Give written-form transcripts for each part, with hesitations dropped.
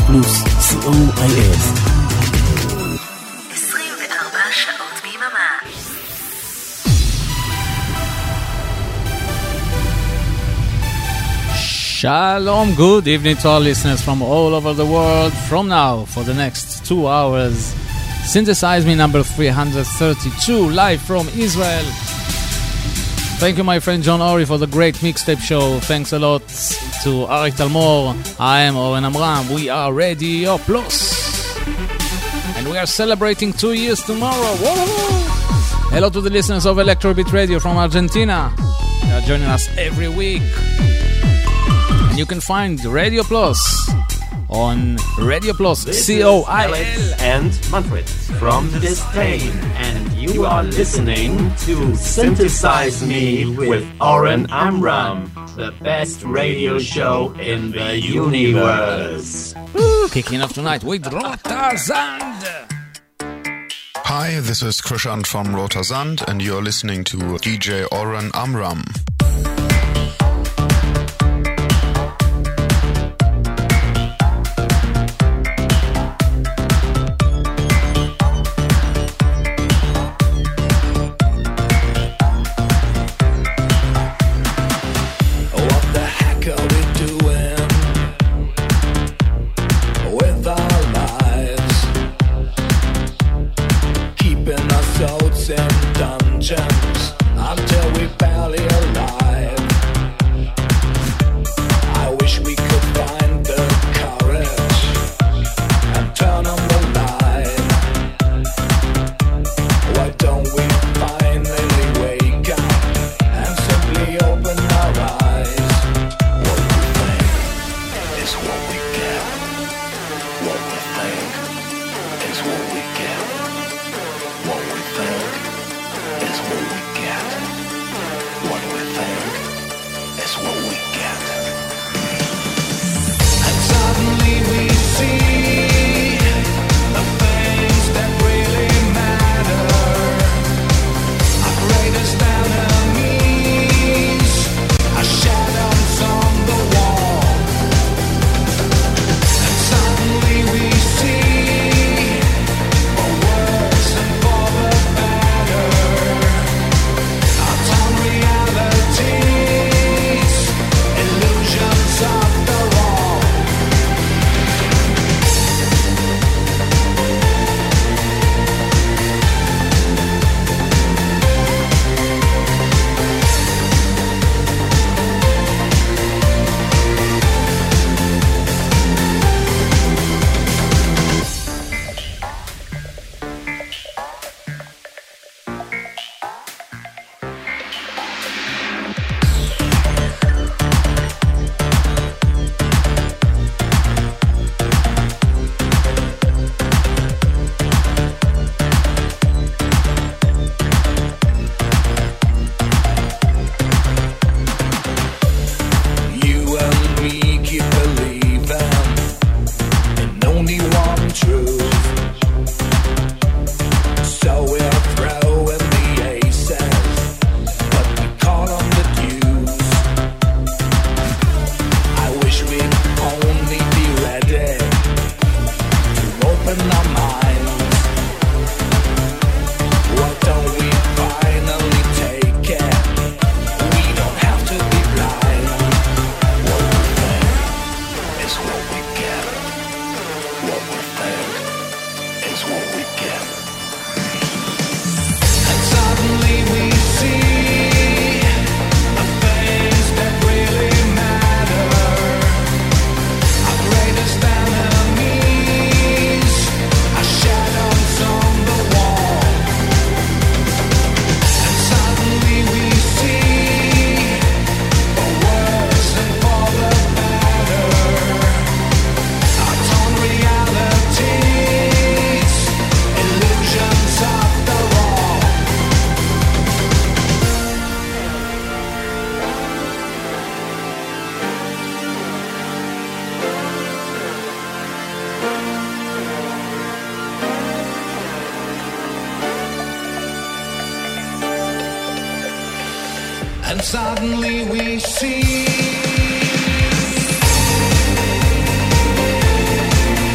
פלוס co.il 24 שעות ביממה. Shalom, good evening to our listeners from all over the world. From now, for the next 2 hours, Synthesize Me number 332, live from Israel. Thank you, my friend John Ori, for the great mixtape show. Thanks a lot to Arik Talmor. I am Oren Amram. We are Radio Plus. And we are celebrating 2 years tomorrow. Whoa! Hello to the listeners of Electrobeat Radio from Argentina. They are joining us every week. And you can find Radio Plus on Radio Plus, COIL. And Manfred from Disdain. And you are listening to Synthesize Me with Oren Amram, the best radio show in the universe. Kicking off tonight with Rotersand. Hi, this is Krishant from Rotersand, and you're listening to DJ Oren Amram. Until we barely alive. and suddenly we see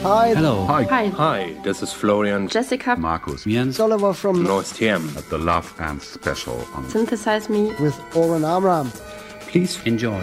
Hi. Hello. Hi. Hi. Hi, this is Florian. Jessica. Markus. Jens. Oliver from North TM. At the Love and Special on Synthesize Me with Oren Amram. Please enjoy.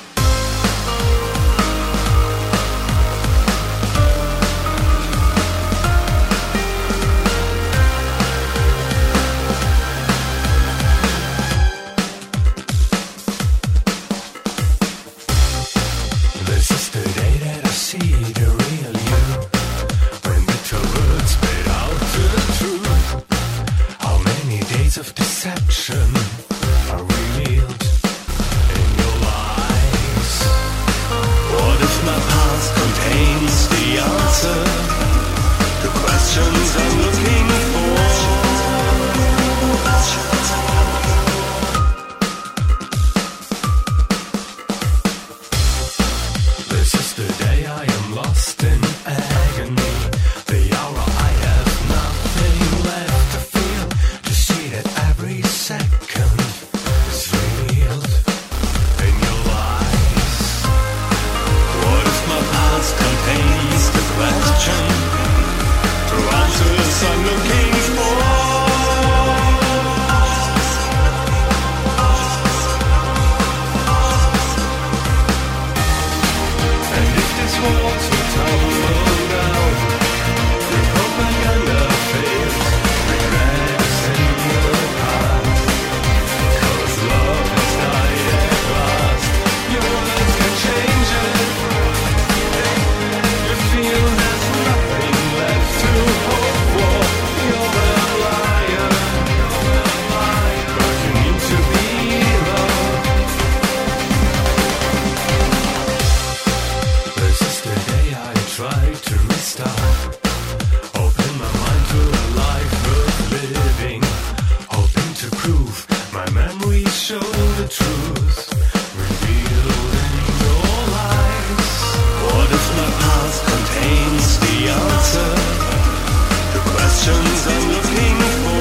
Of deception are revealed in your lies. What if my past contains the answer to questions I'm looking for? This is the day I am lost in agony. The hour I have nothing left to feel. Every second is revealed in your lies. What if my past contains the question to answers I'm looking for? And if this walls will tumble down, your propaganda fails, regret is in your heart. Cause love has died at last. Your words can change it. You feel there's nothing left to hope for. You're a liar. But you need to be loved. This is the day I try to restart. Open my mind to a life worth living. Hoping to prove my memories show the truth revealed in your lies. What if my past contains the answer to questions I'm looking for?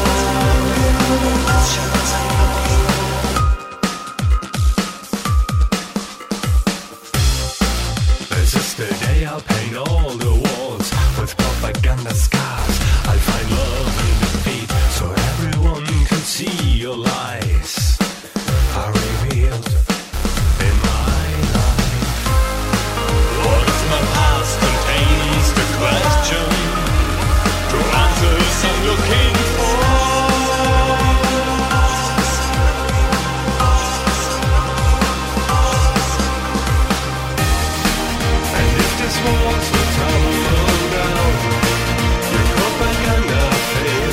This is the day I'll paint all the walls with propaganda scars. I'll find love in defeat so everyone can see your lies are revealed in my life. What if my past contains the question to answers I'm looking for? And if this walls will tumble down, your propaganda fails.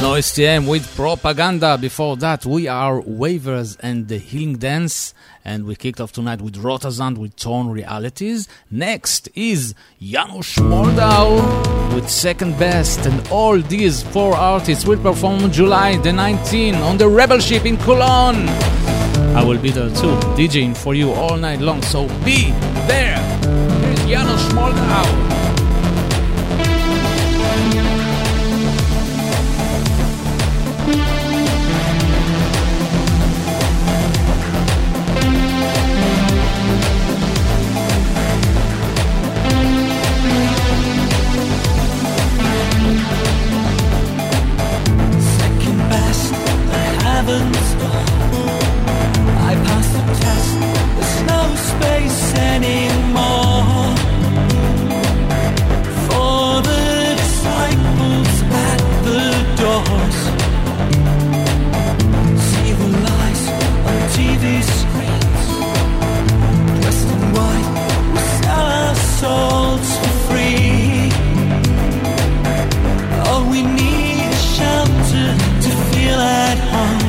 No STM with Propaganda. Before that, we are Waivers and the Healing Dance. And we kicked off tonight with Rotazand with Torn Realities. Next is Janusz Moldau with Second Best. And all these four artists will perform July the 19th on the Rebel Ship in Cologne. I will be there too, DJing for you all night long. So be there. Here's Janusz Moldau. I passed the test, there's no space anymore for the disciples at the doors. See the lies on TV screens, dressed in white, we sell our souls for free. All we need is shelter to feel at home.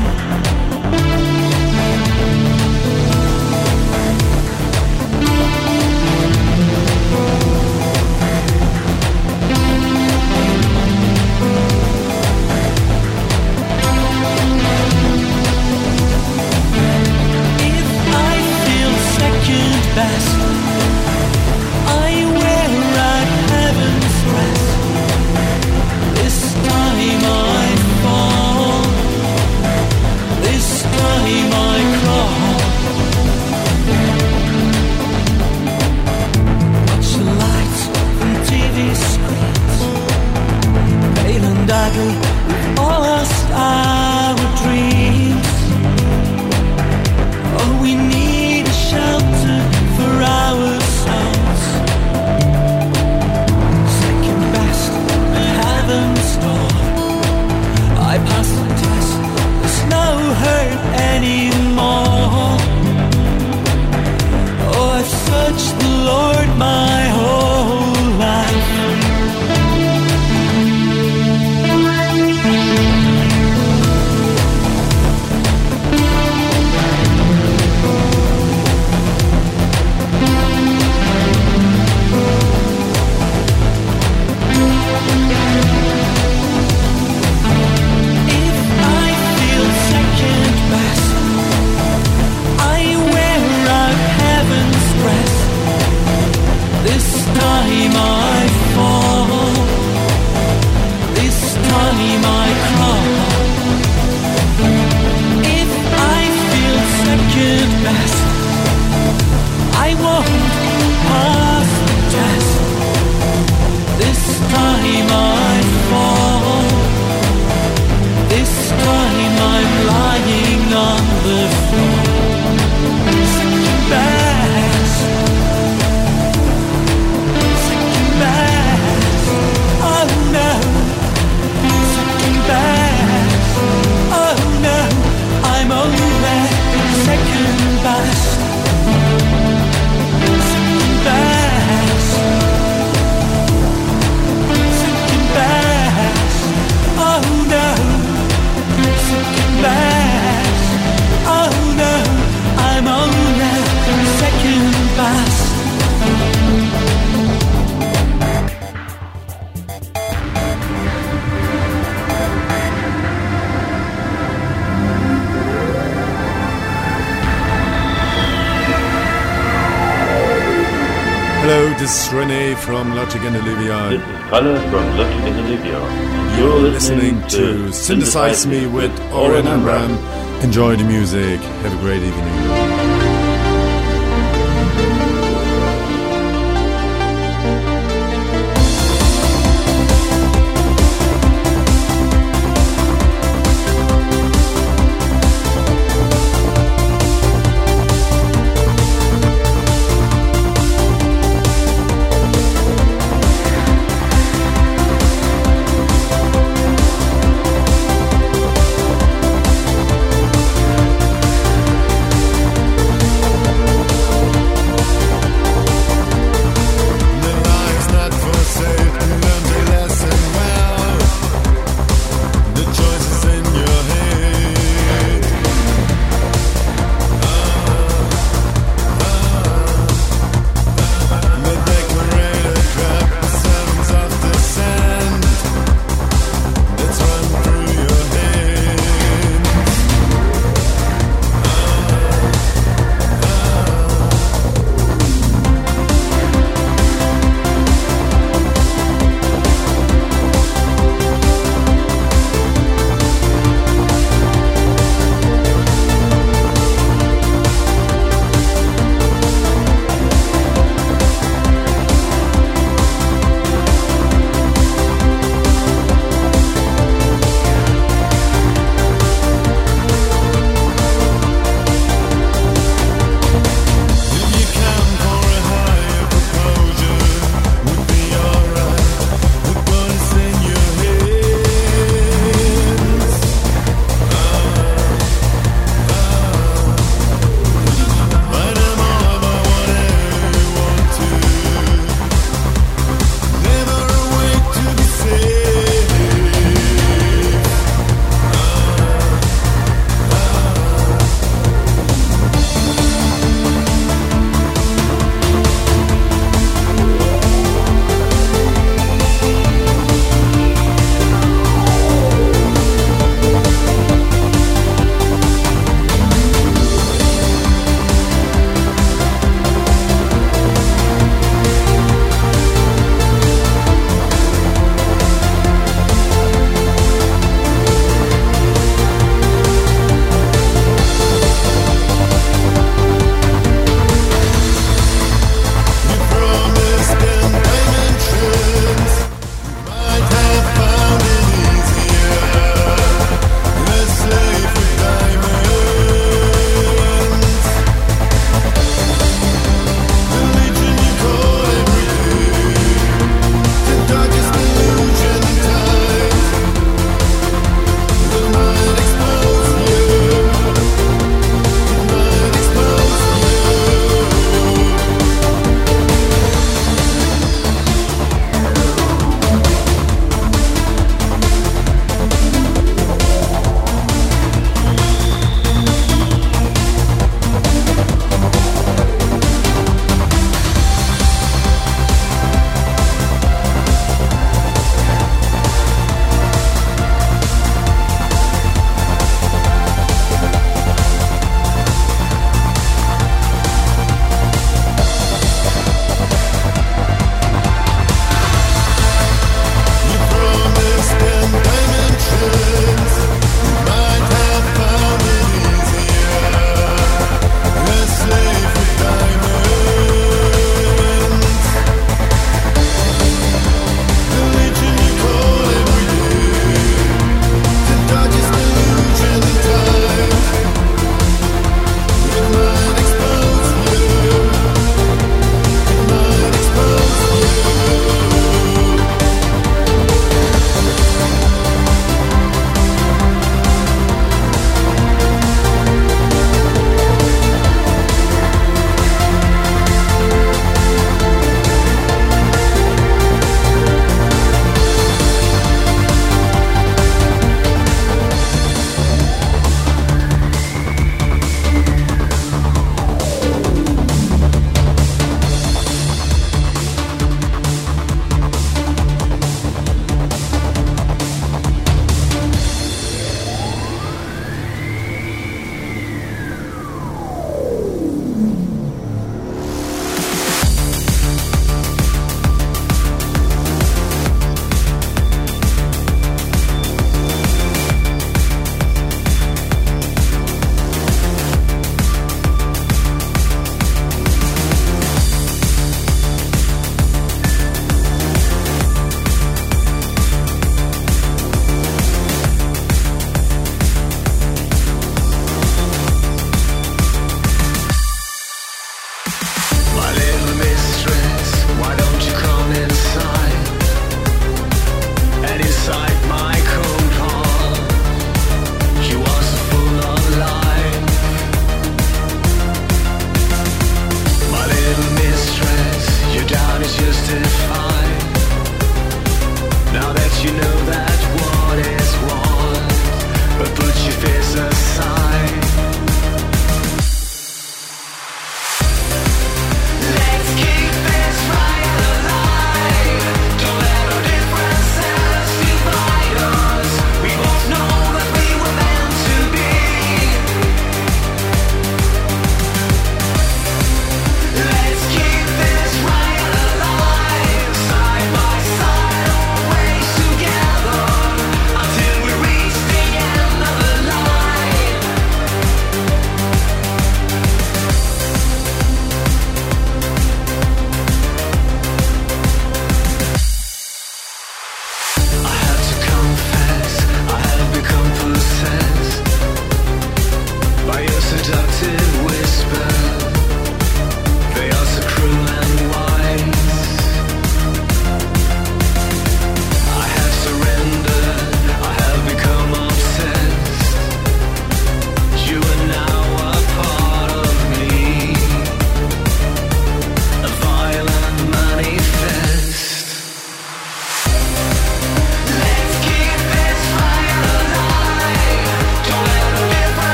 Best. I wear at heaven's rest. This time I fall. This time I crawl. Watch the lights from TV screens, pale and ugly, we've all lost our dreams. All we need is shelter for our souls. Second best at heaven's door. I passed the test, there's no hurt anymore. Oh, I've searched the Lord my whole life. This time I fall, this time I crawl. If I feel second best, I won't pass the test. This time I fall, this time I'm lying on the floor. Second best. Oh no, second best. Oh no, I'm only second best. Second best. Second best. Oh no, second best. Oh no, I'm only second best. Hello, this is Rene from Logic and Olivia. This is Kalle from Logic and Olivia. You're listening to Synthesize Me with Oren Amram. Enjoy the music. Have a great evening.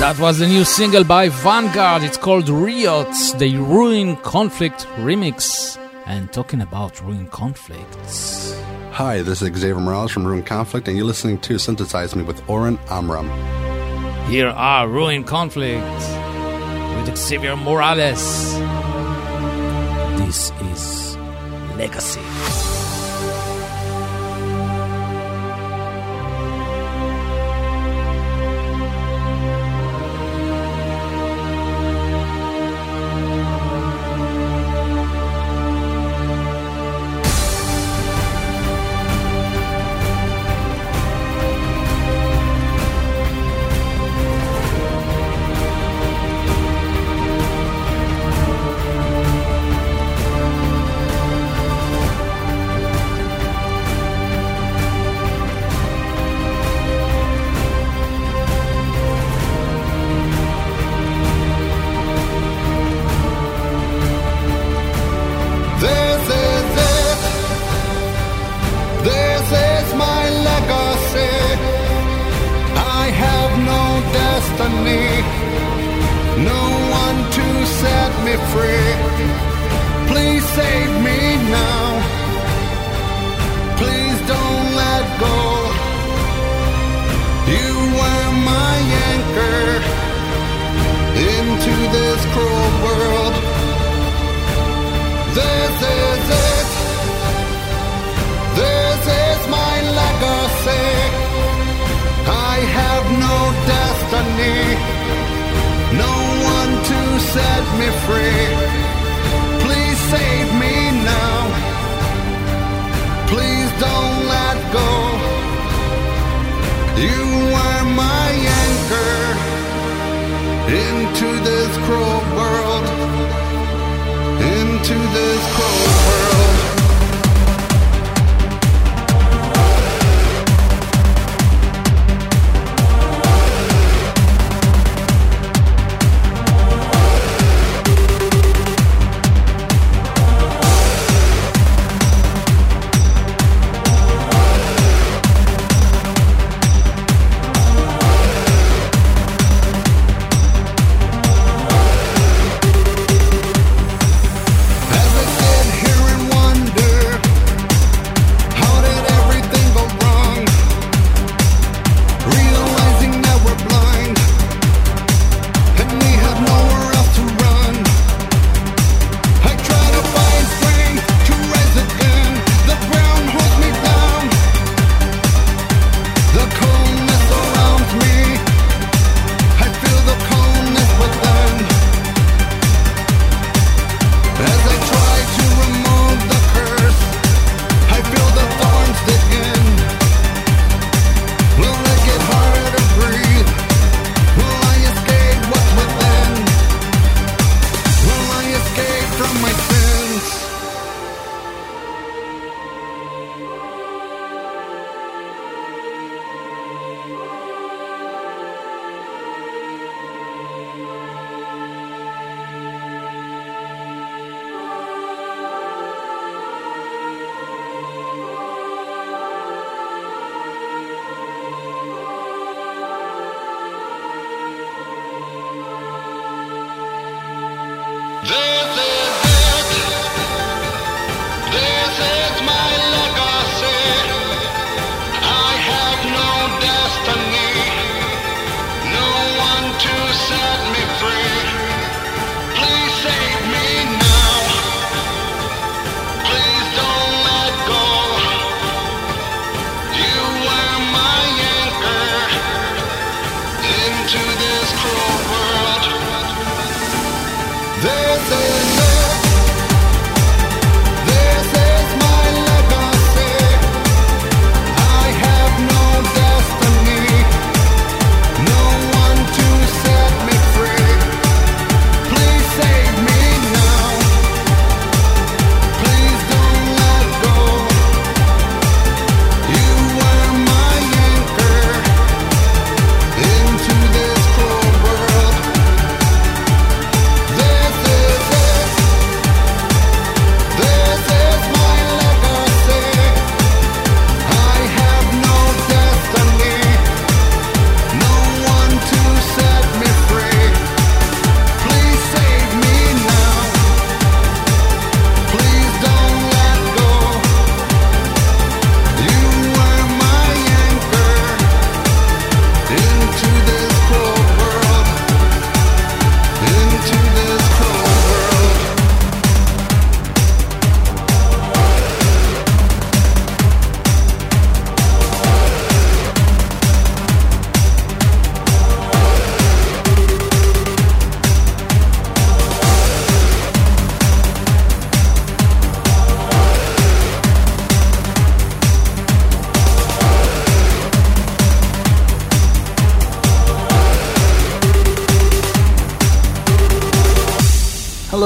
That was the new single by Vanguard. It's called Riot, the Ruin Conflict remix. And talking about Ruin Conflicts. Hi, this is Xavier Morales from Ruin Conflict, and you're listening to Synthesize Me with Oren Amram. Here are Ruin Conflict with Xavier Morales. This is Legacy.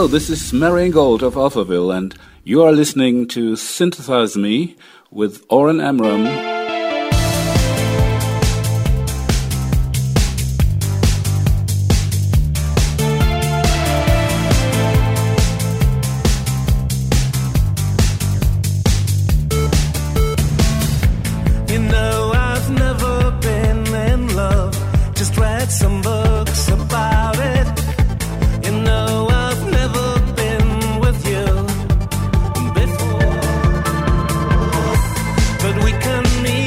this is Marian Gold of Alphaville, and you are listening to Synthesize Me with Oren Amram. Some books about it. You know I've never been with you before, but we can meet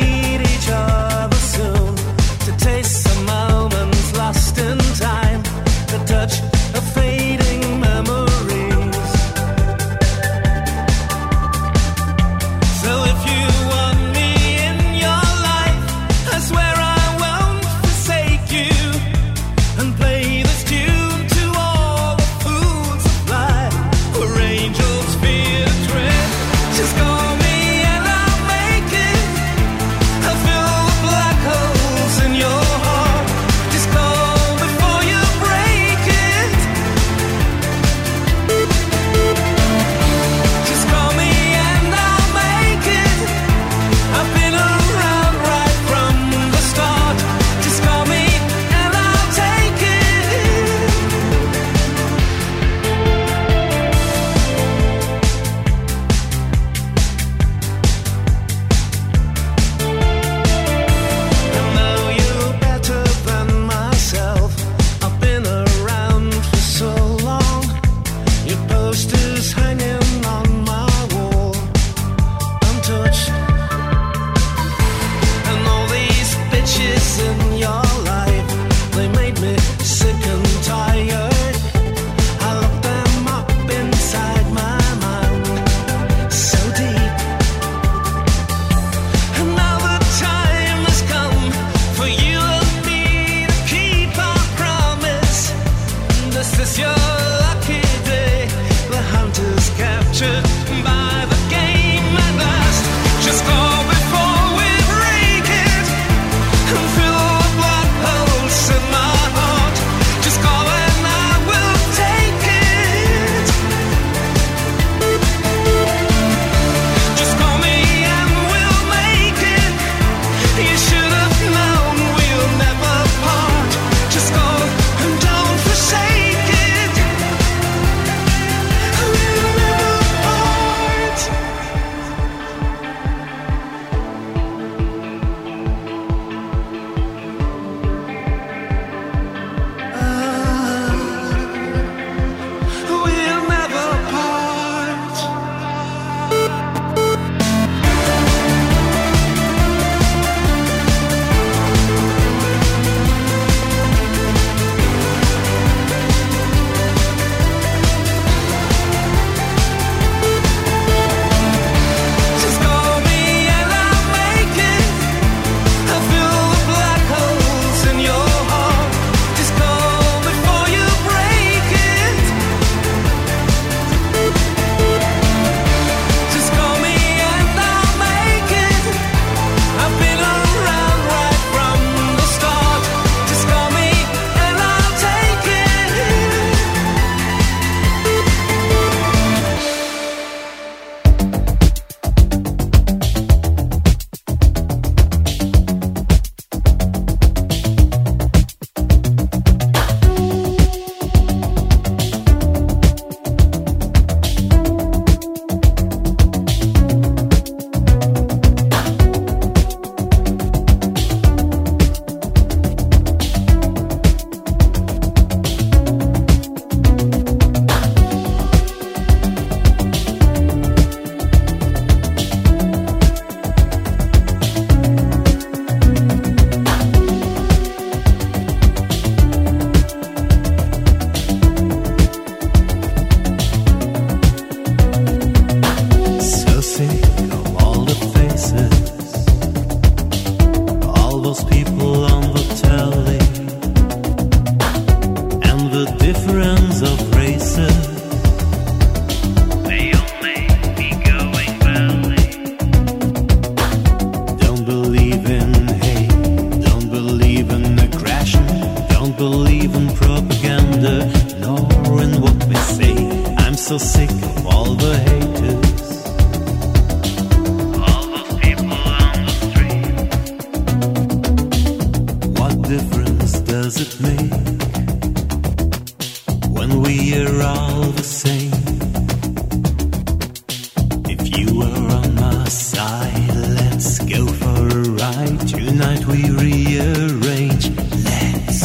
sick of all the haters. All those people on the street. What difference does it make when we are all the same? If you are on my side, let's go for a ride. Tonight we rearrange. Let's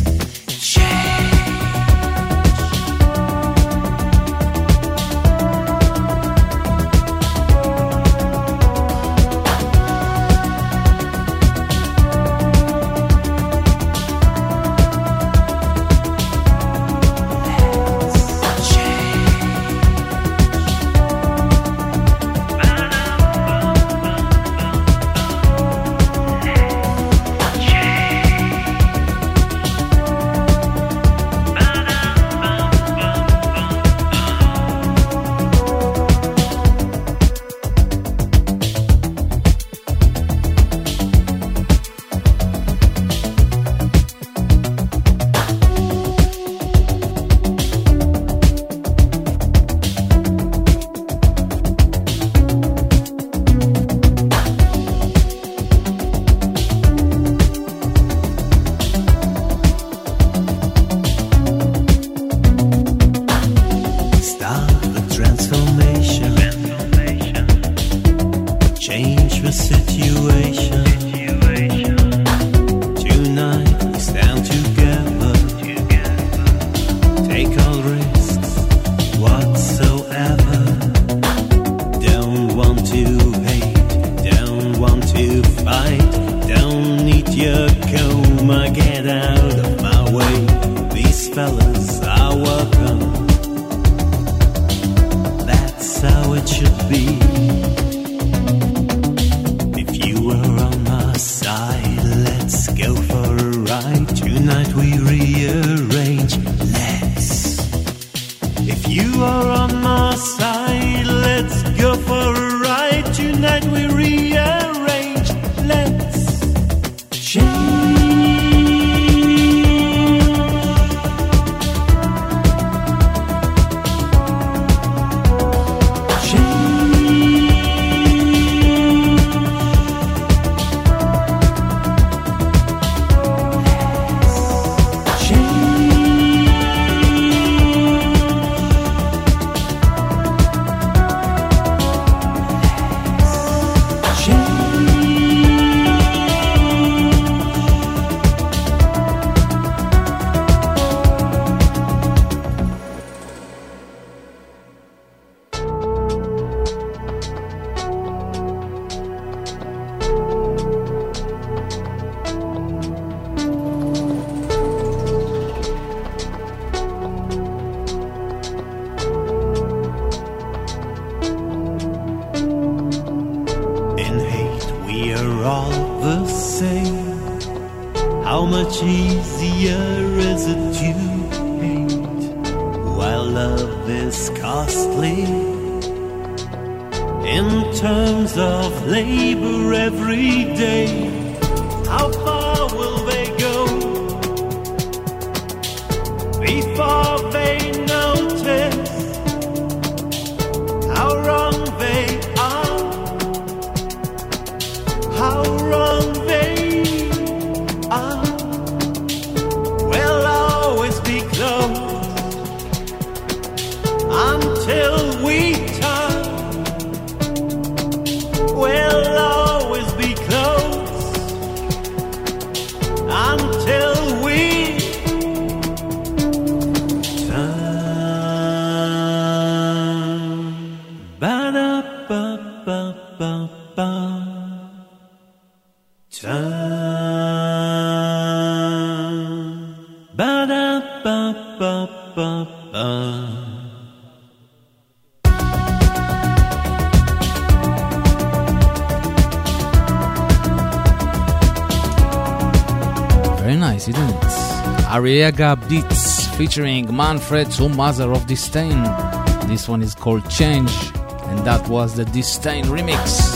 Arriaga Beats featuring Manfred to Mother of Disdain. This one is called Change, and that was the Disdain remix.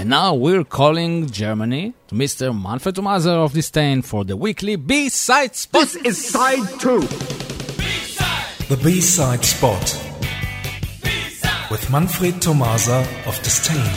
And now we're calling Germany to Mr. Manfred Thomaser of Disdain for the weekly B-side spot. This is side 2. The B-side spot. B-side. With Manfred Thomaser of Disdain.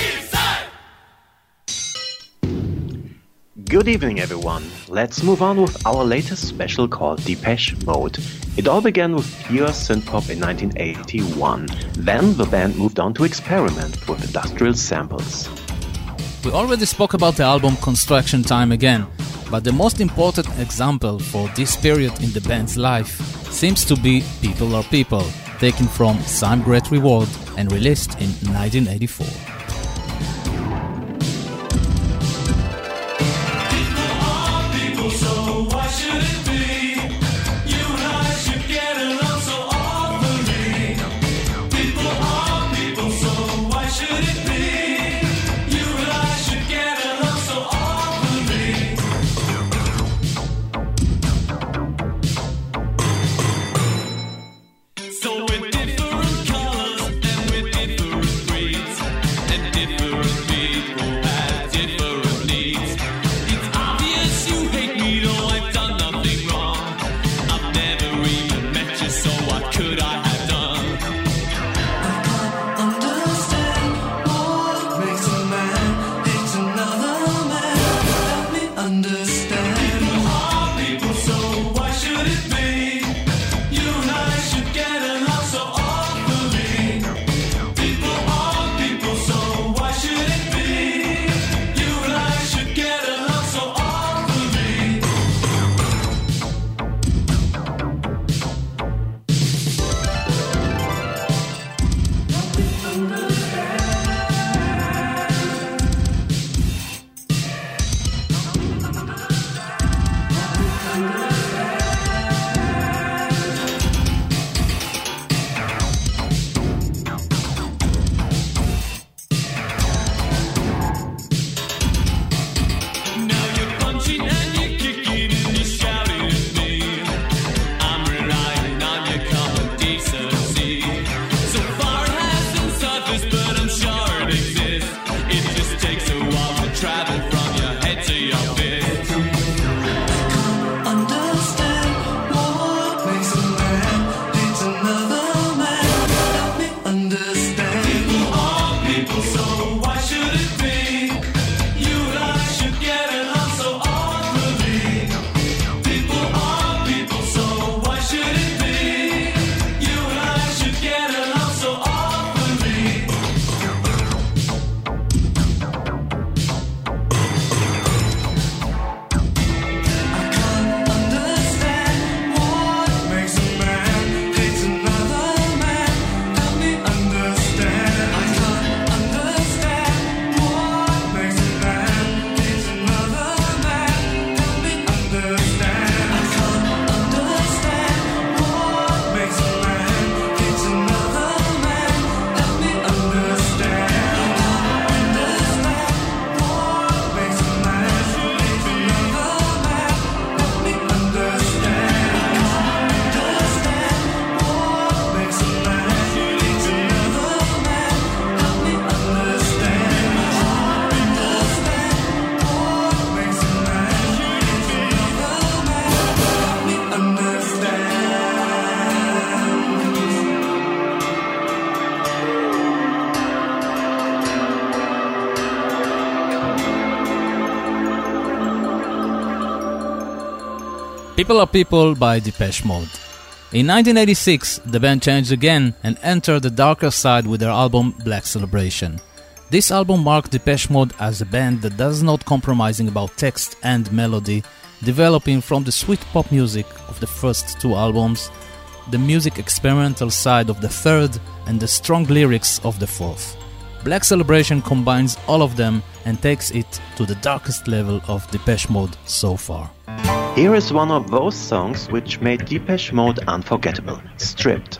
Good evening, everyone. Let's move on with our latest special called Depeche Mode. It all began with pure synthpop in 1981. Then the band moved on to experiment with industrial samples. We already spoke about the album Construction Time again, but the most important example for this period in the band's life seems to be People Are People, taken from Some Great Reward and released in 1984. People Are People by Depeche Mode. In 1986, the band changed again and entered the darker side with their album Black Celebration. This album marked Depeche Mode as a band that does not compromising about text and melody, developing from the sweet pop music of the first two albums, the music experimental side of the third, and the strong lyrics of the fourth. Black Celebration combines all of them and takes it to the darkest level of Depeche Mode so far. Here is one of those songs which made Depeche Mode unforgettable, Stripped.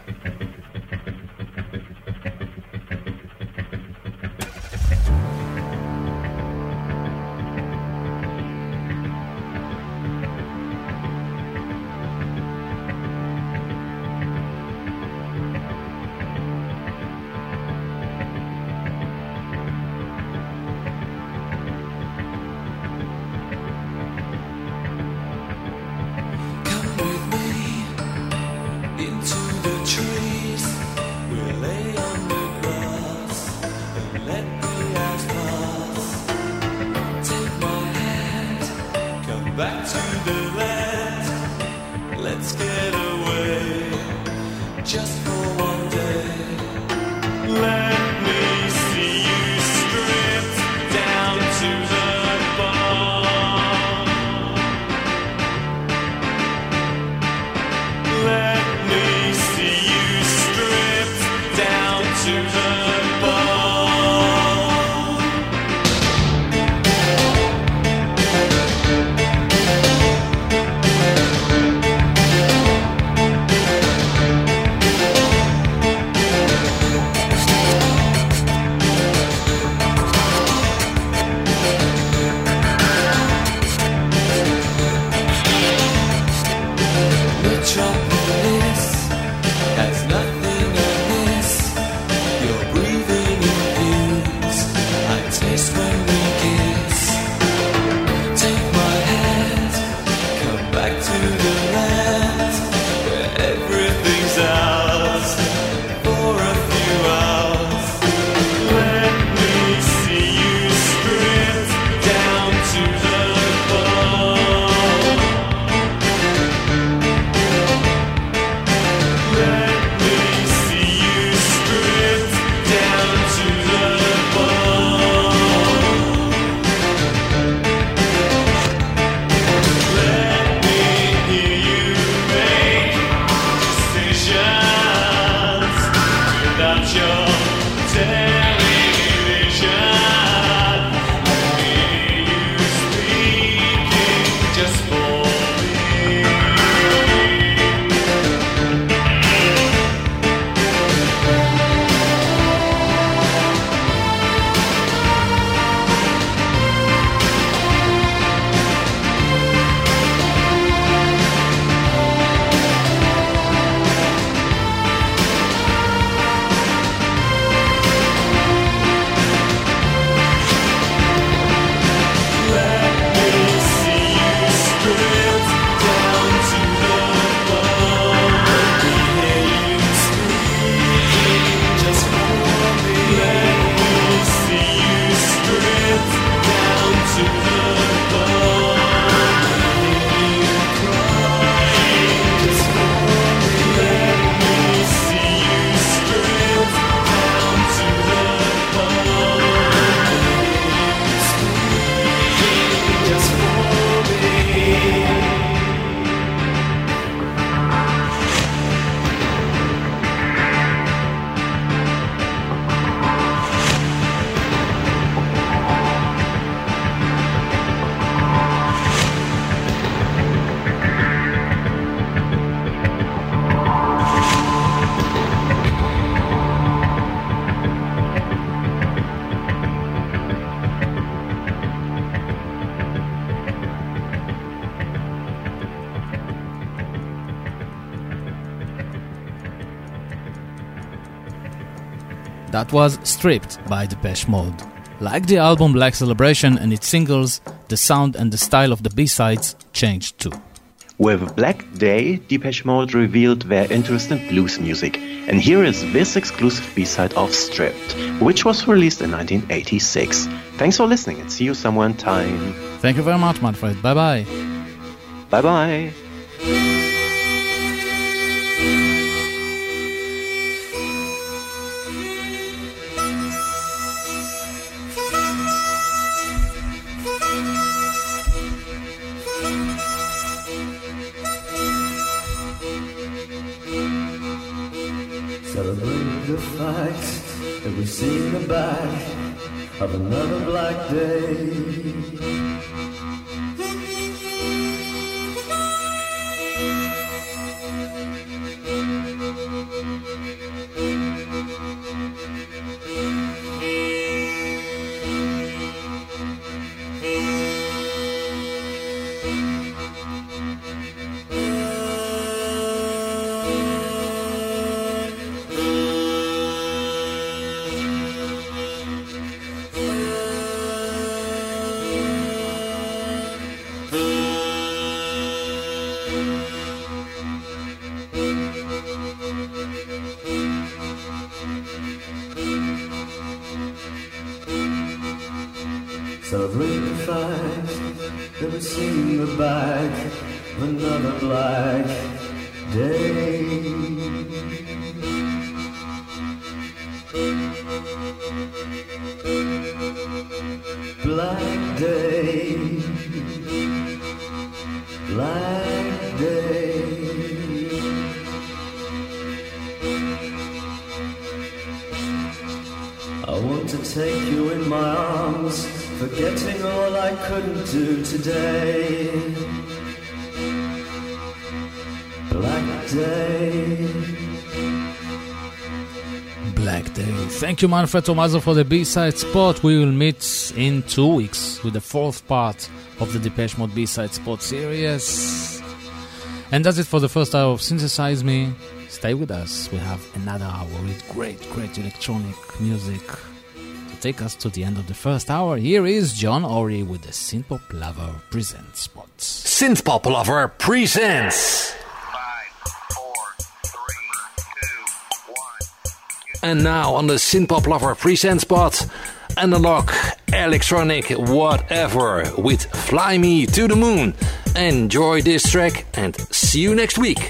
just for one day. Let me see you stripped down to the bone. Let me see you stripped down to the Metropolis has nothing amiss. You're breathing in fumes I taste when we kiss. Take my hand, come back to the land where everything's ours for a few hours. Let me see you stripped down to the bone. Let me see you stripped down to the bone. Let me hear you make decisions without your television. I hear you speaking just for me. That was Stripped by Depeche Mode. Like the album Black Celebration and its singles, the sound and the style of the B-sides changed too. With Black Day, Depeche Mode revealed their interest in blues music, and here is this exclusive B-side of Stripped, which was released in 1986. Thanks for listening and see you somewhere in time. Thank you very much, Manfred. Bye-bye. Bye-bye. Celebrate the fact that we've seen the back of another black day. Celebrate the fact that we've seen the back of another black day. Black day, black day. I want to take you in my arms, forgetting all I couldn't do today. Black day. Black Day. Thank you, Manfred Tomaso, for the B-side spot. We will meet in 2 weeks with the fourth part of the Depeche Mode B-side spot series. And that's it for the first hour of Synthesize Me. Stay with us. We have another hour with great electronic music to take us to the end of the first hour. Here is John Ory with the Synthpop Lover Presents spot. Synthpop Lover Presents. And now on the Synthpop Lover Presents spot, analog, electronic, whatever, with Fly Me to the Moon. Enjoy this track and see you next week.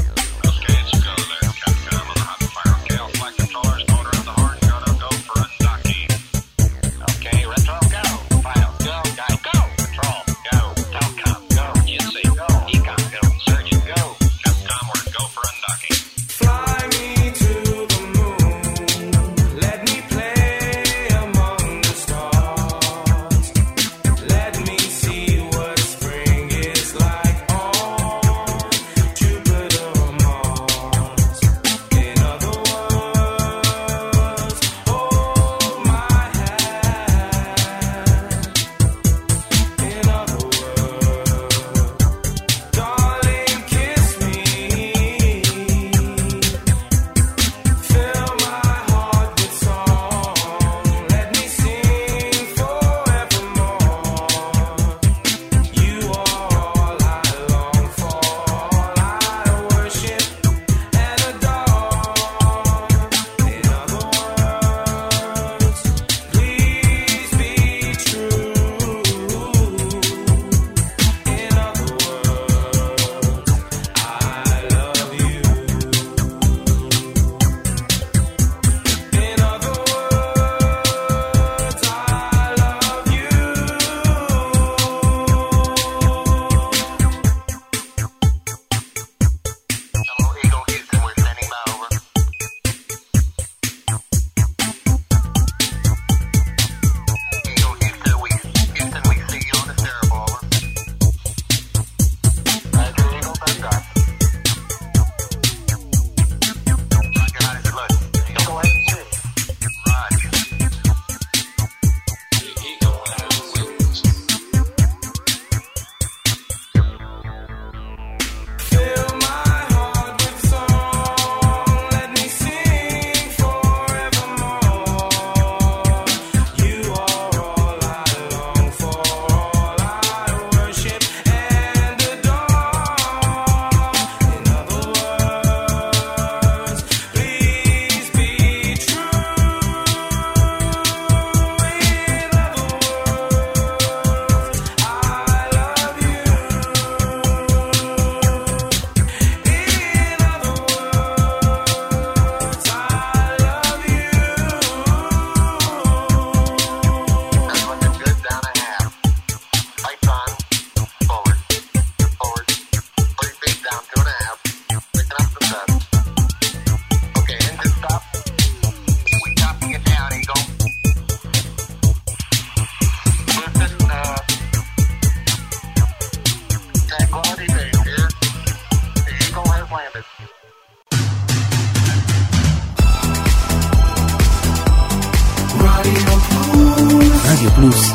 רדיו פלוס,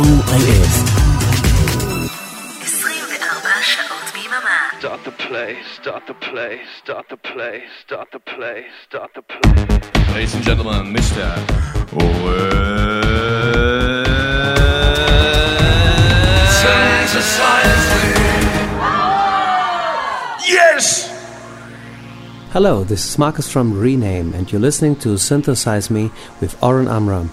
COIS. 24 שעות ביממה. Start the play, start the play, start the play, start the play, start the play. Ladies and gentlemen, Mr. Yes! Hello, this is Marcus from Rename, and you're listening to Synthesize Me with Oren Amram.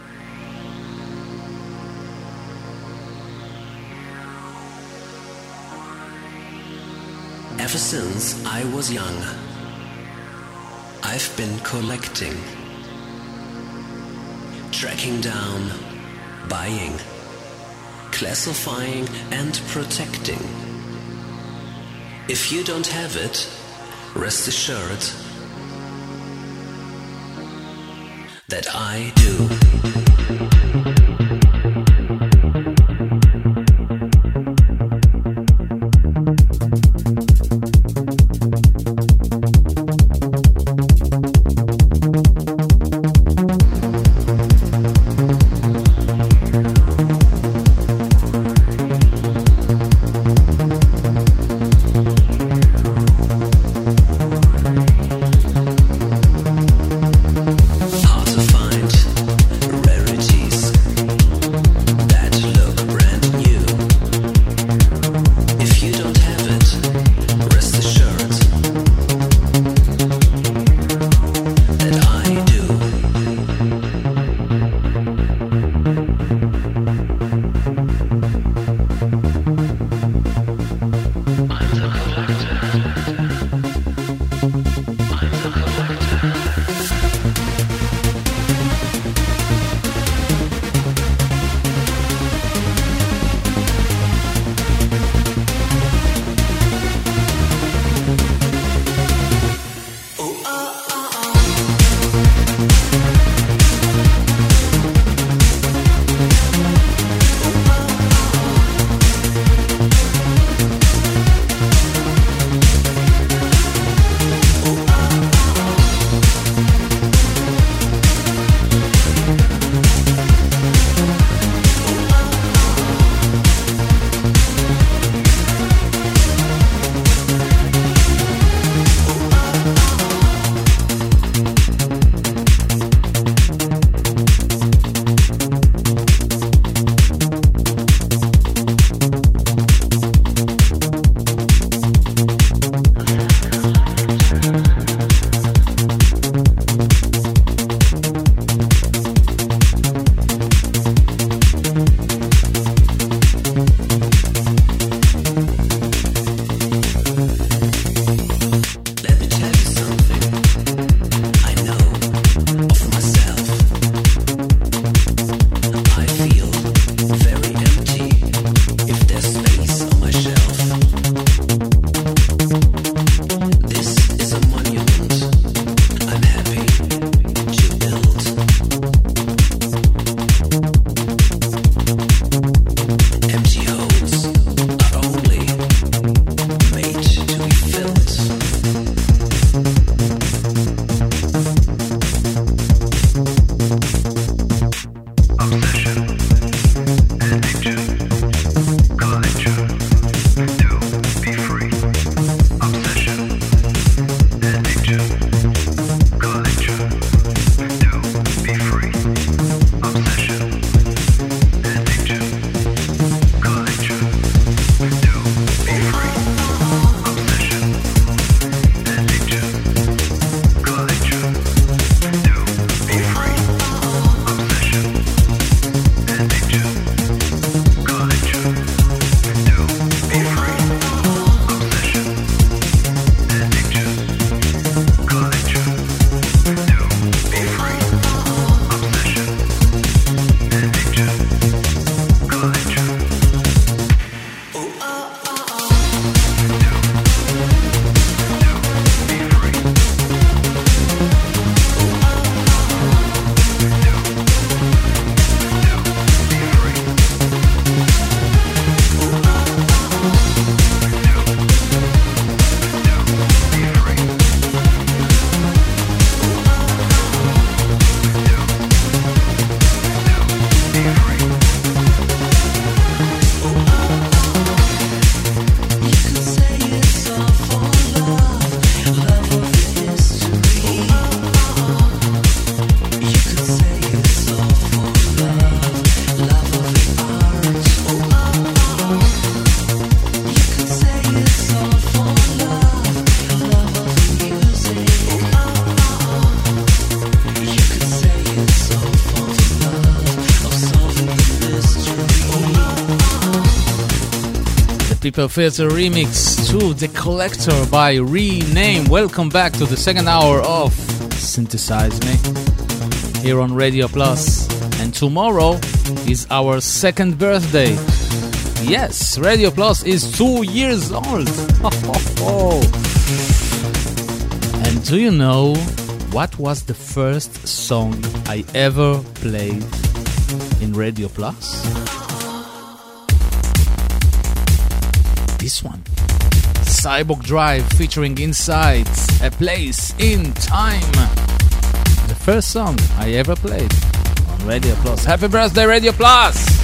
Ever since I was young, I've been collecting, tracking down, buying, classifying and protecting. If you don't have it, rest assured that I do. People Filter remix to The Collector by Rename. Welcome back to the second hour of Synthesize Me here on Radio Plus. And tomorrow is our second birthday. Yes, Radio Plus is 2 years old. And do you know what was the first song I ever played in Radio Plus? This one. Cyborg Drive featuring Inside, A Place in Time. The first song I ever played on Radio Plus. Happy birthday, Radio Plus!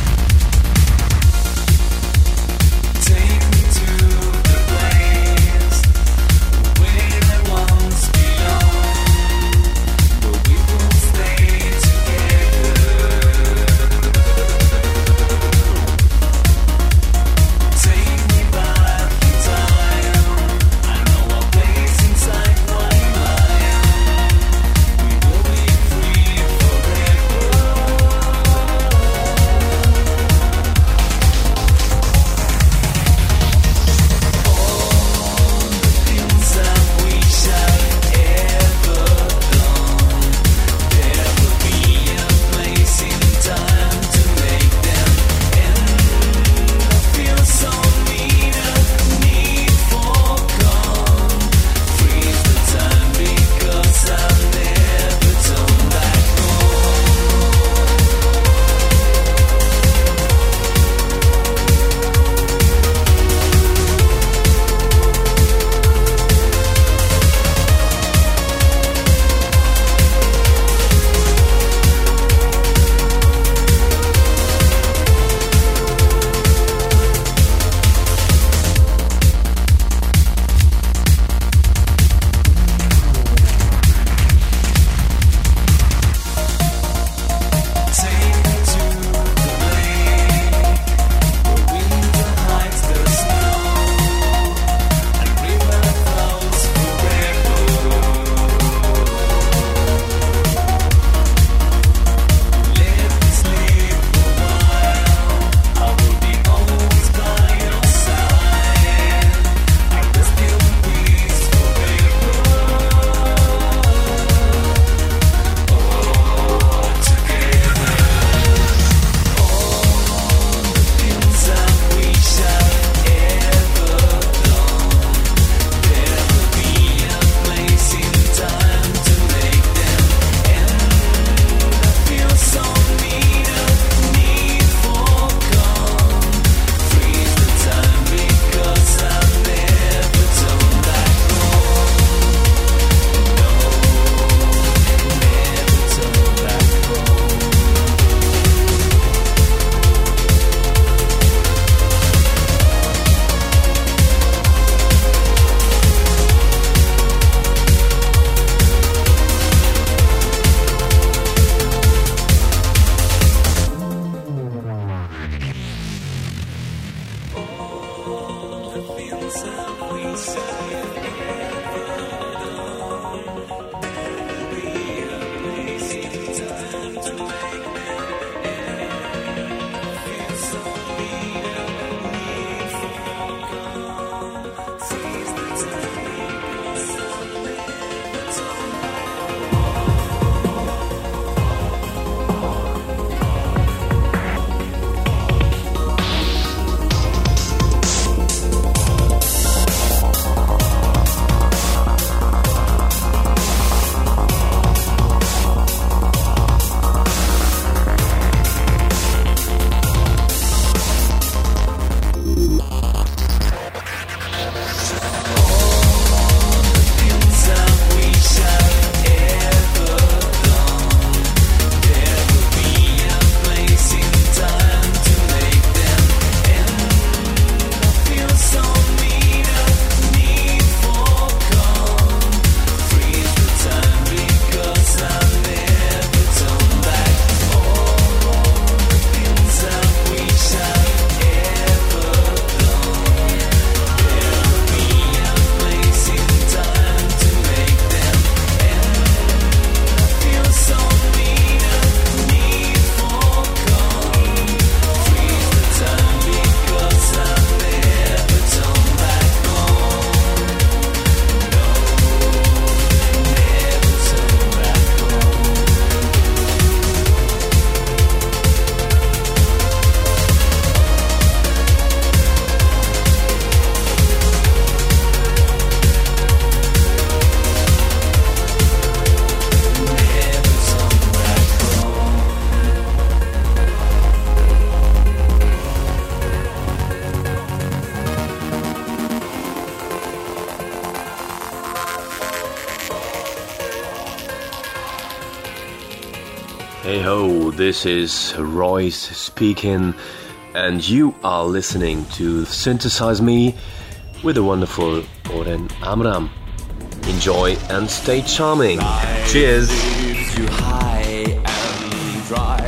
Hey ho, this is Royce speaking, and you are listening to Synthesize Me with the wonderful Oren Amram. Enjoy and stay charming. Cheers! Leaves you high and dry,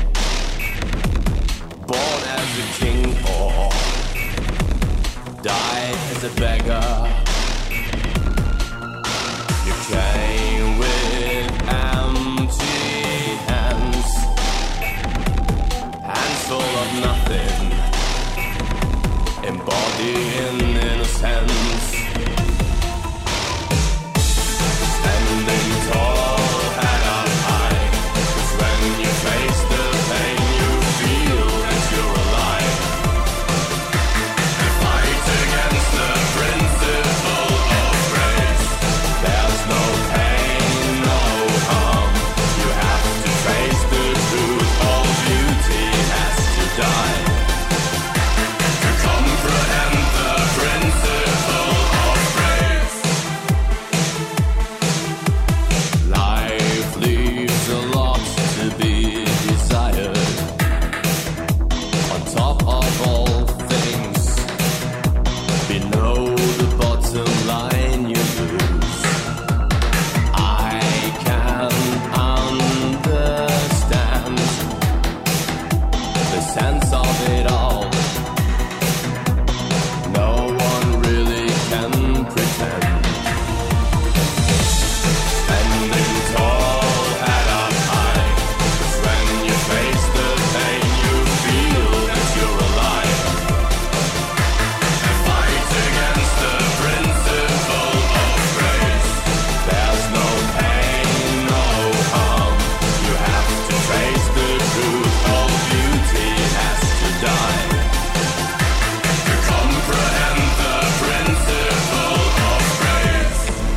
born as a king or die as a beggar. You came with empty hands, hands full of nothing, embodying innocence. Standing tall, head up high, 'cause when you face the pain, you feel that you're alive. And fight against the principle of grace. There's no pain, no harm. You have to face the truth. All beauty has to die. To comprehend the principle of grace. Life leaves a lot to be desired. On top of all things, below the bottom line you lose. I can understand the sense of it all. No one really can pretend. Standing tall, head up high, 'cause when you face the pain, you feel that you're alive. And fight against the principle of grace. There's no pain, no harm. You have to face the truth. All beauty has to die. To comprehend the principle of grace.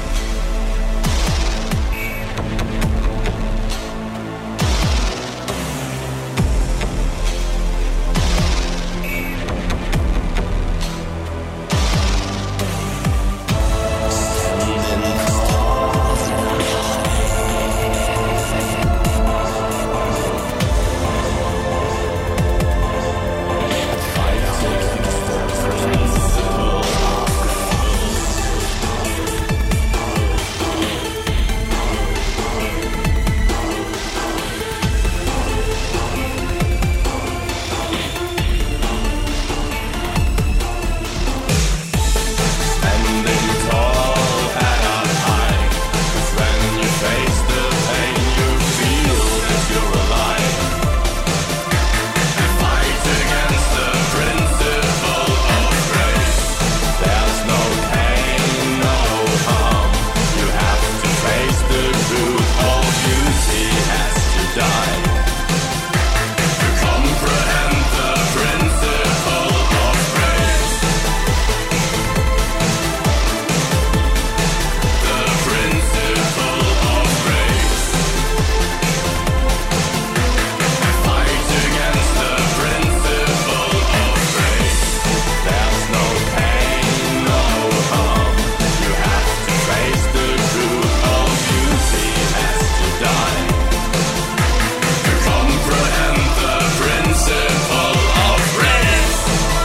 Standing tall, head up high, 'cause when you face the pain, you feel that you're alive. And fight against the principle of grace. There's no pain, no harm. You have to face the truth. All beauty has to die. To comprehend the principle of grace. The principle of grace. Fight against the principle of grace. There's no pain, no harm. You have to face the truth. All beauty has to die. To comprehend the principle of grace.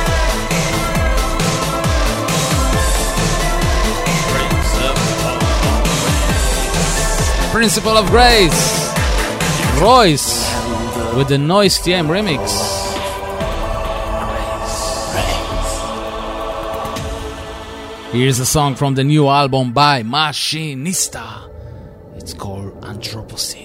Principle of Grace. Royce with the Noise TM remix. Here's a song from the new album by Machinista. It's called Anthropocene.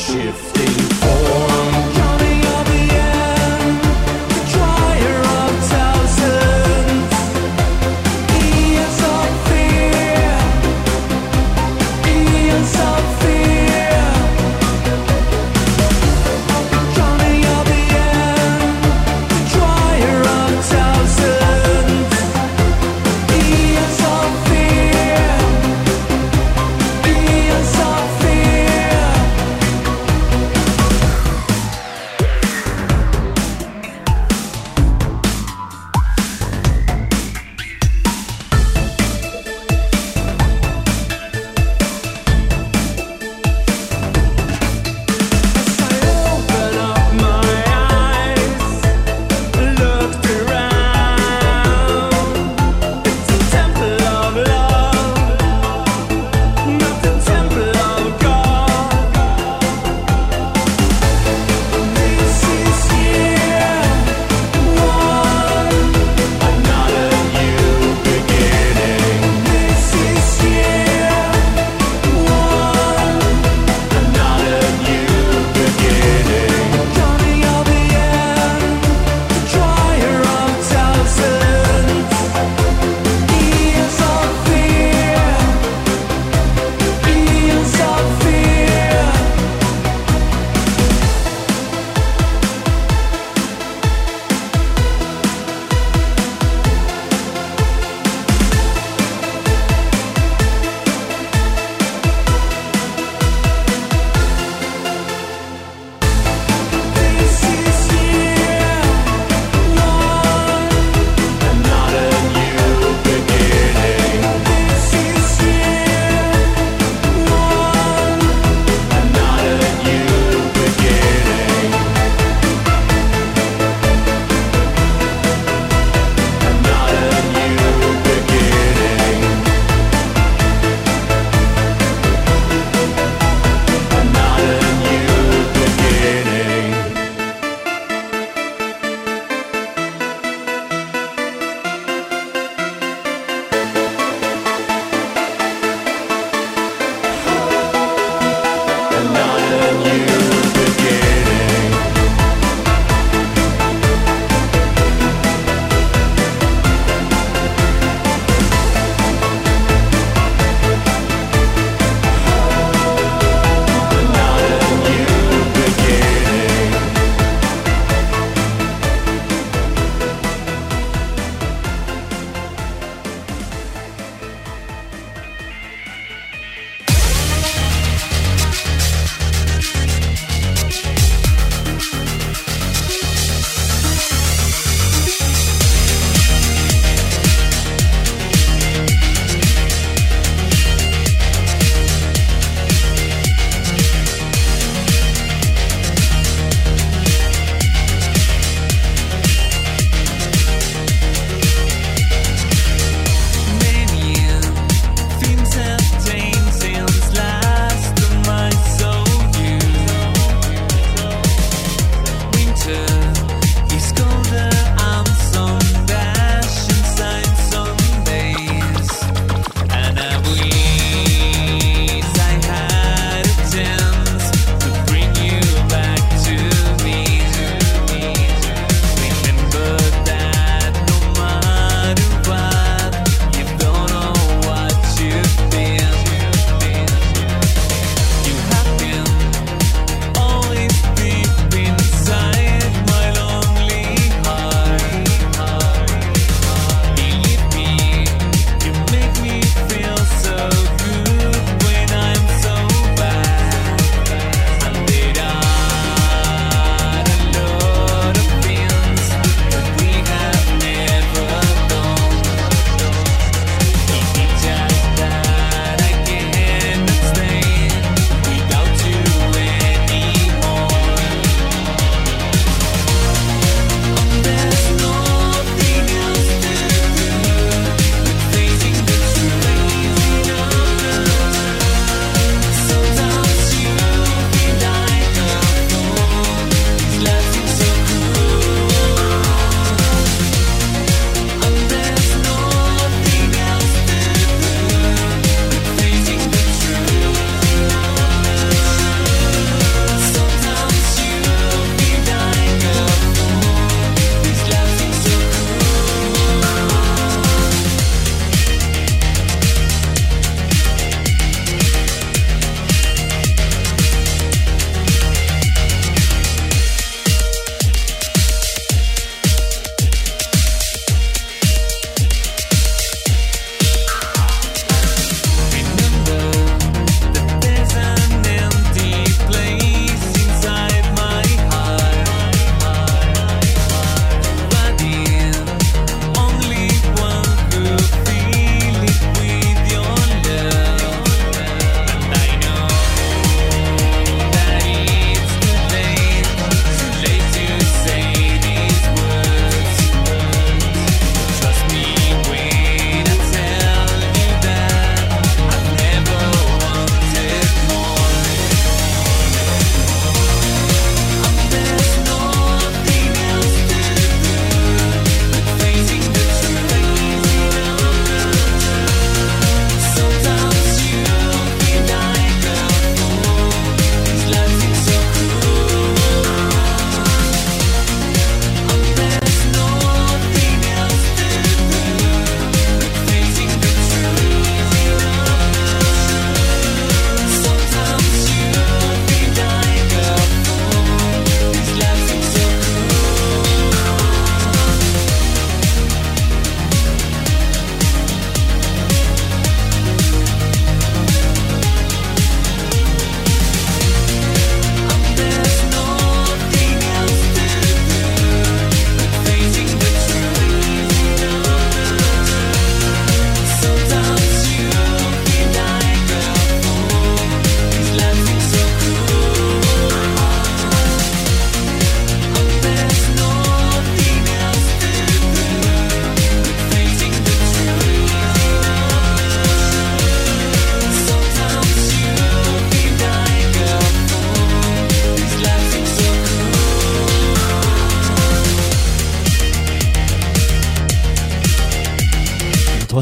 shifting form. Counting of the end, the trier of thousands. Eons of fear, eons of fear. Counting of the end, the trier of thousands. Eons of fear, eons of fear.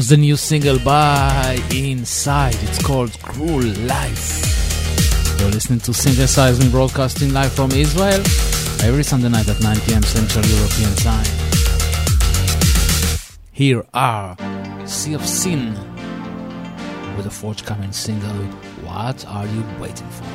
was the new single by Inside. It's called Cruel Life. You're listening to Synthesize Me, broadcasting live from Israel every Sunday night at 9 p.m. Central European Time. Here are Sea of Sin with a forthcoming single, What Are You Waiting For?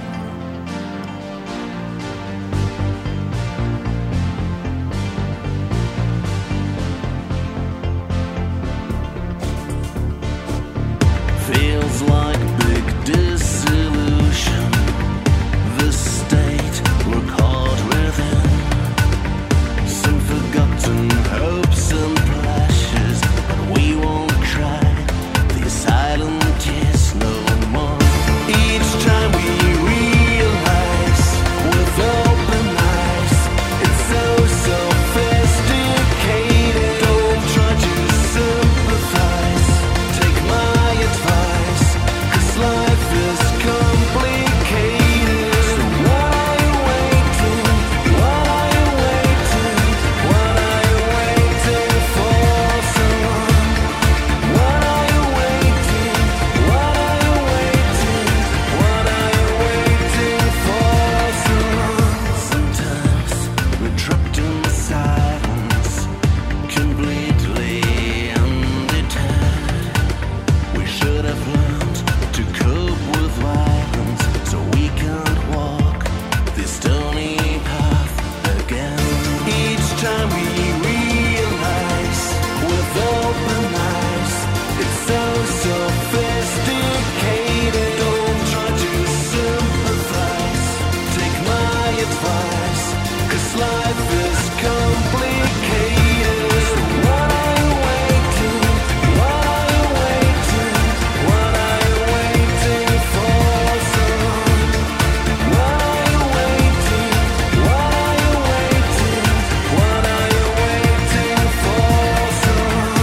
Feels like big disillusion. The state we're caught within. Some forgotten hopes and pleasures, but we won't cry the silent tears no more. Each time we realize with open eyes, it's so sophisticated. Don't try to sympathize. Take my advice, 'cause life is complicated. So what are you waiting? What are you waiting? What are you waiting for, someone? What are you waiting? What are you waiting? What are you waiting for, someone? Sometimes we're trapped in silence, completely undeterred. We should have learned to cope with violence, so we can't walk this stony path again. Each time we realize with open eyes, it's so sophisticated. Don't try to sympathize. Take my advice, 'cause life is complicated. So what are you waiting? What are you waiting? What are you waiting for, someone? What are you waiting? What are you waiting? What are you waiting for, someone?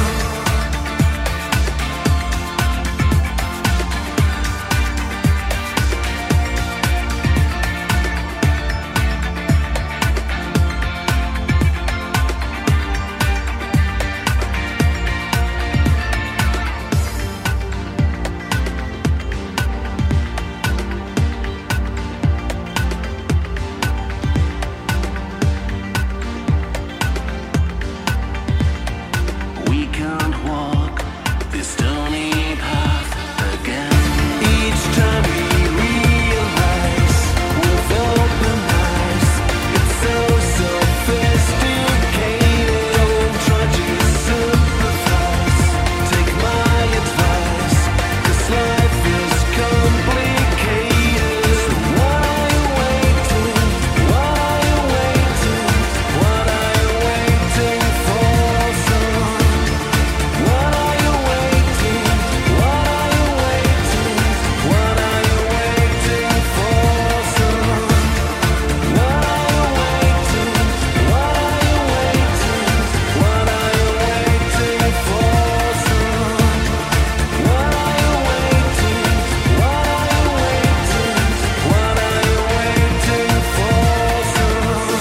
We can't walk this stony path again. Each time we realize with open eyes, it's so sophisticated. Don't try to sympathize. Take my advice, 'cause life is complicated. So what are you waiting? What are you waiting? What are you waiting for, someone? What are you waiting? What are you waiting? What are you waiting for, someone? What are you waiting? What are you waiting? What are you waiting for, someone? What are you waiting? What are you waiting? What are you waiting for, someone?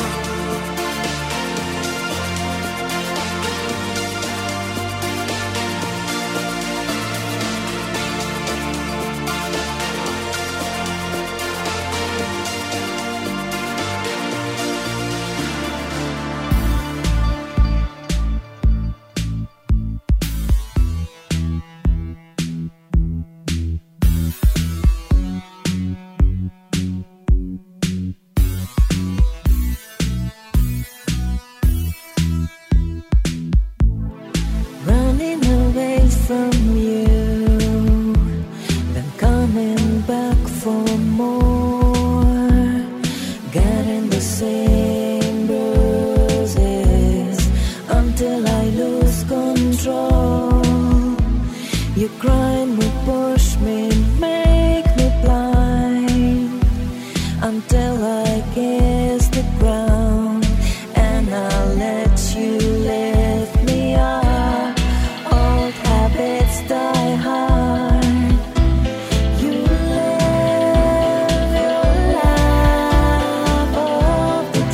Running away from you, then coming back for more, getting the same bruises until I lose control. You grind me, push me, make me blind until I kiss the ground, and I'll let you lift me up. Old habits die hard. You live your life off the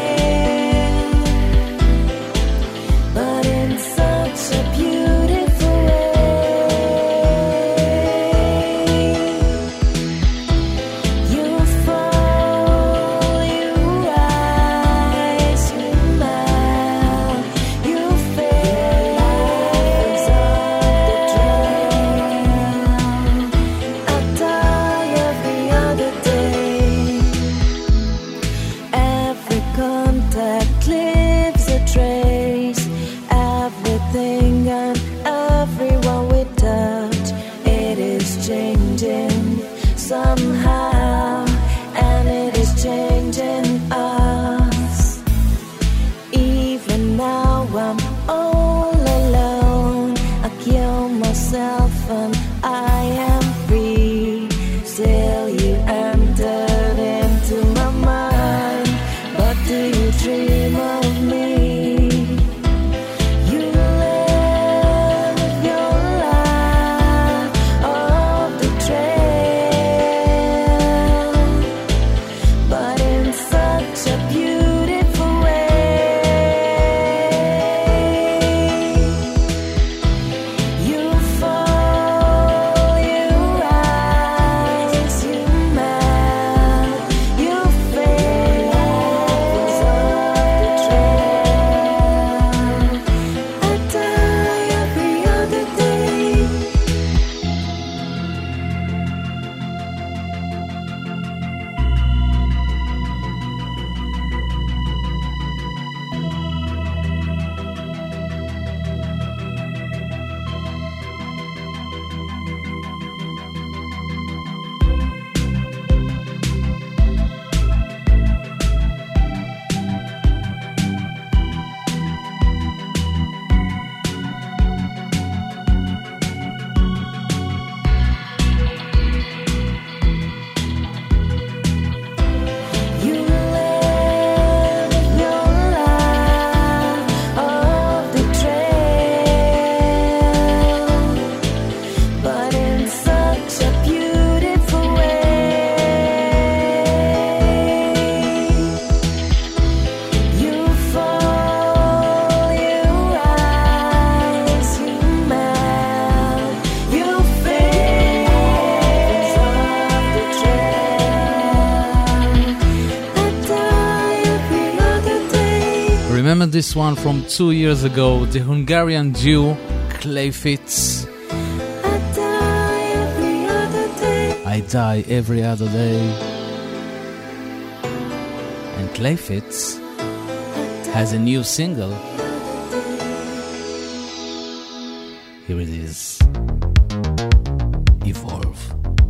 train, but in such a beautiful remember this one from 2 years ago, the Hungarian duo Clayfits. I die every other day. And Clayfits has a new single. Here it is. Evolve.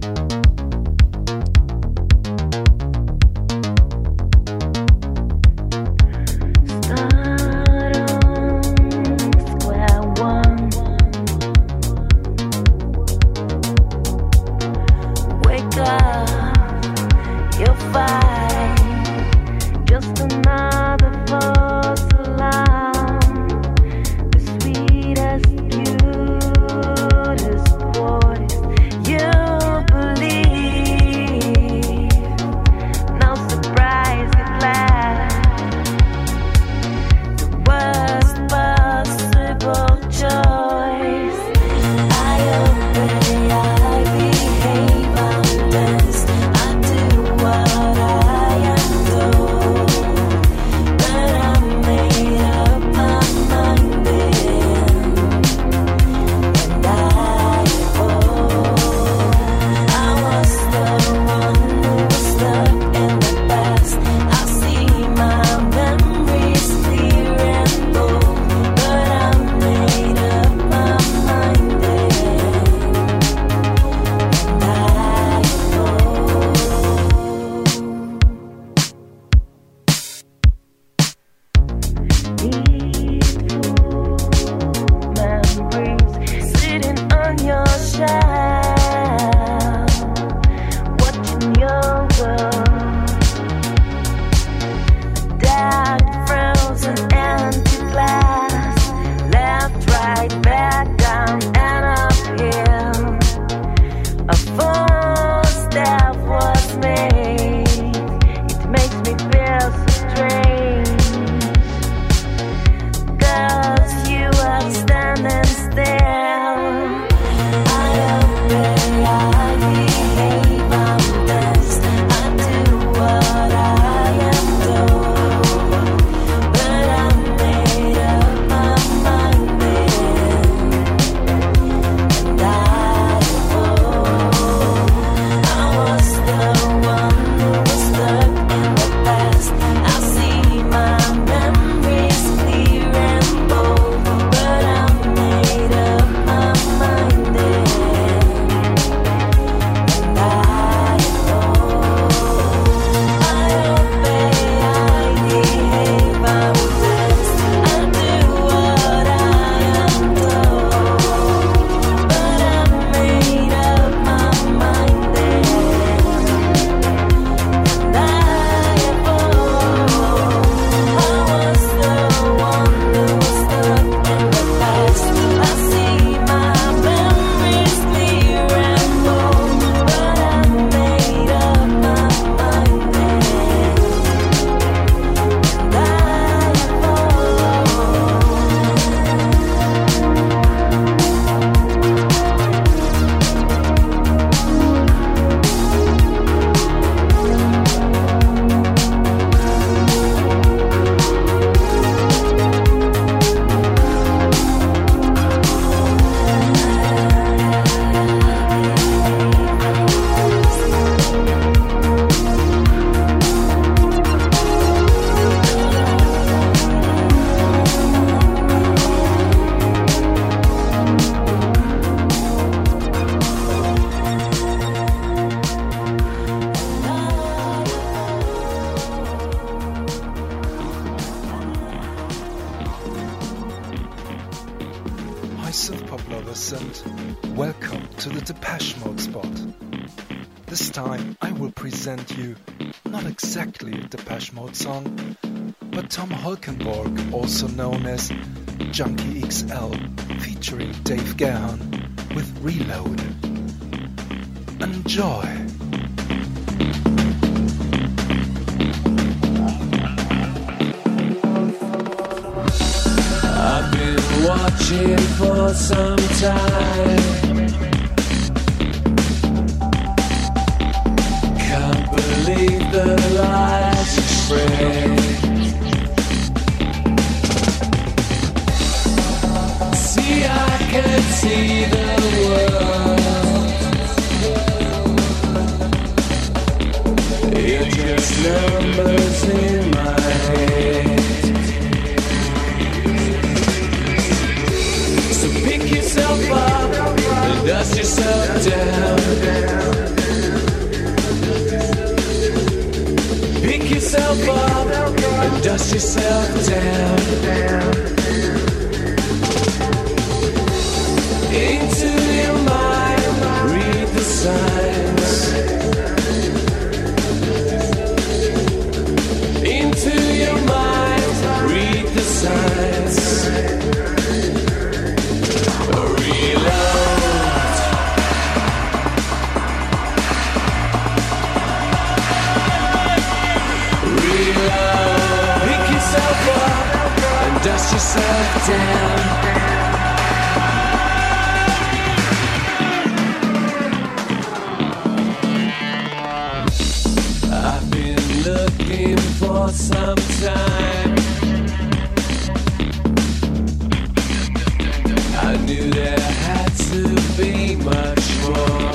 Welcome to the Depeche Mode spot. This time I will present you not exactly a Depeche Mode song, but Tom Holkenborg, also known as Junkie XL, featuring Dave Gahan with Reload. Enjoy! I've been watching for some time. Can't believe the lies you spread. numbers in my head. So pick yourself up and dust yourself down. Pick yourself up and dust yourself down. Into your mind, read the signs. Into your mind, read the signs. Reload. Reload. Pick yourself up and dust yourself down. I've been looking for some time. I knew there had to be much more.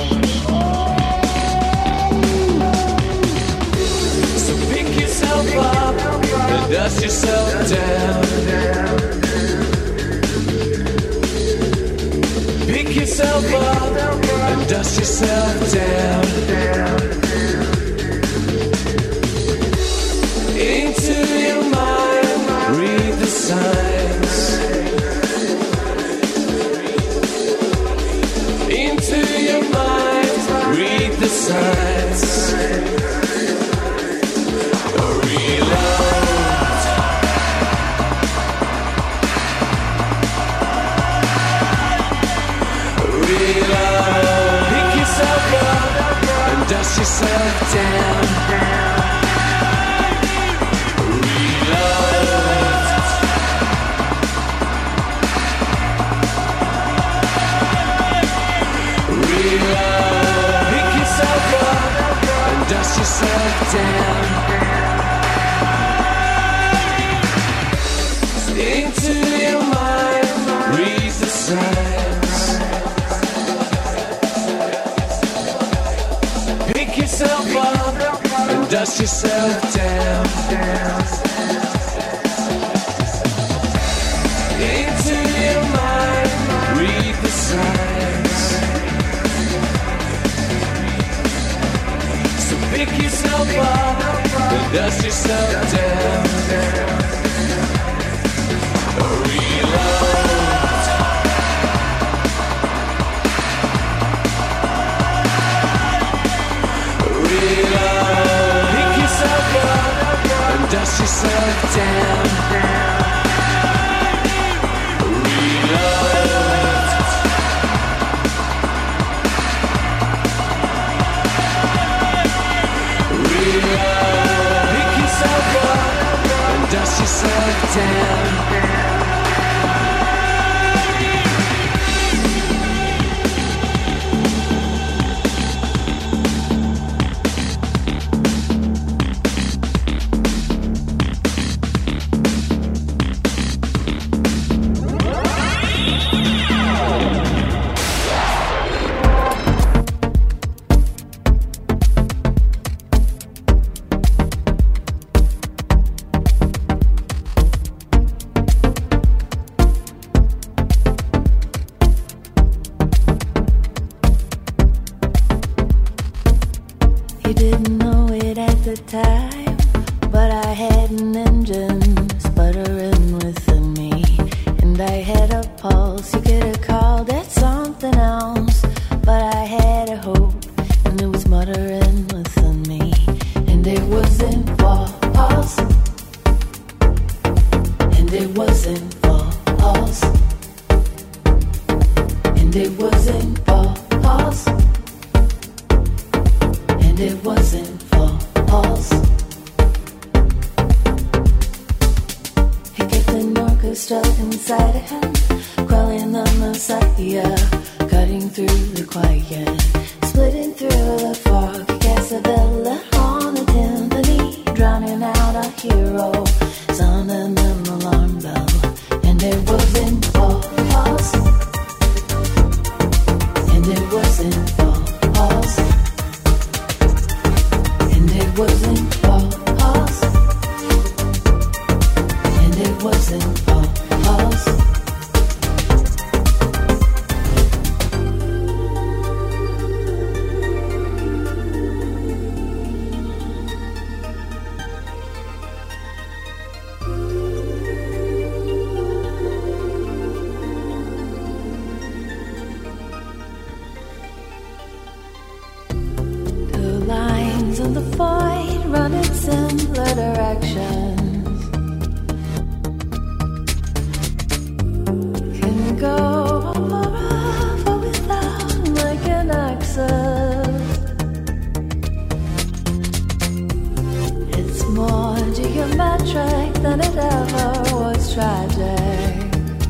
So pick yourself up and dust yourself down. Pick yourself up and dust yourself down. Into your mind, read the signs. Into your mind, read the signs. Reload. Reload. Pick yourself up and dust yourself down. Pick yourself up and dust yourself down. Into your mind, read the signs. Pick yourself up and dust yourself down. Into your mind, read the signs. Pick yourself up and dust yourself down. Reload. Reload. Pick yourself up and dust yourself down. Reload. Pick yourself up and dust yourself down. wasn't false. tragic.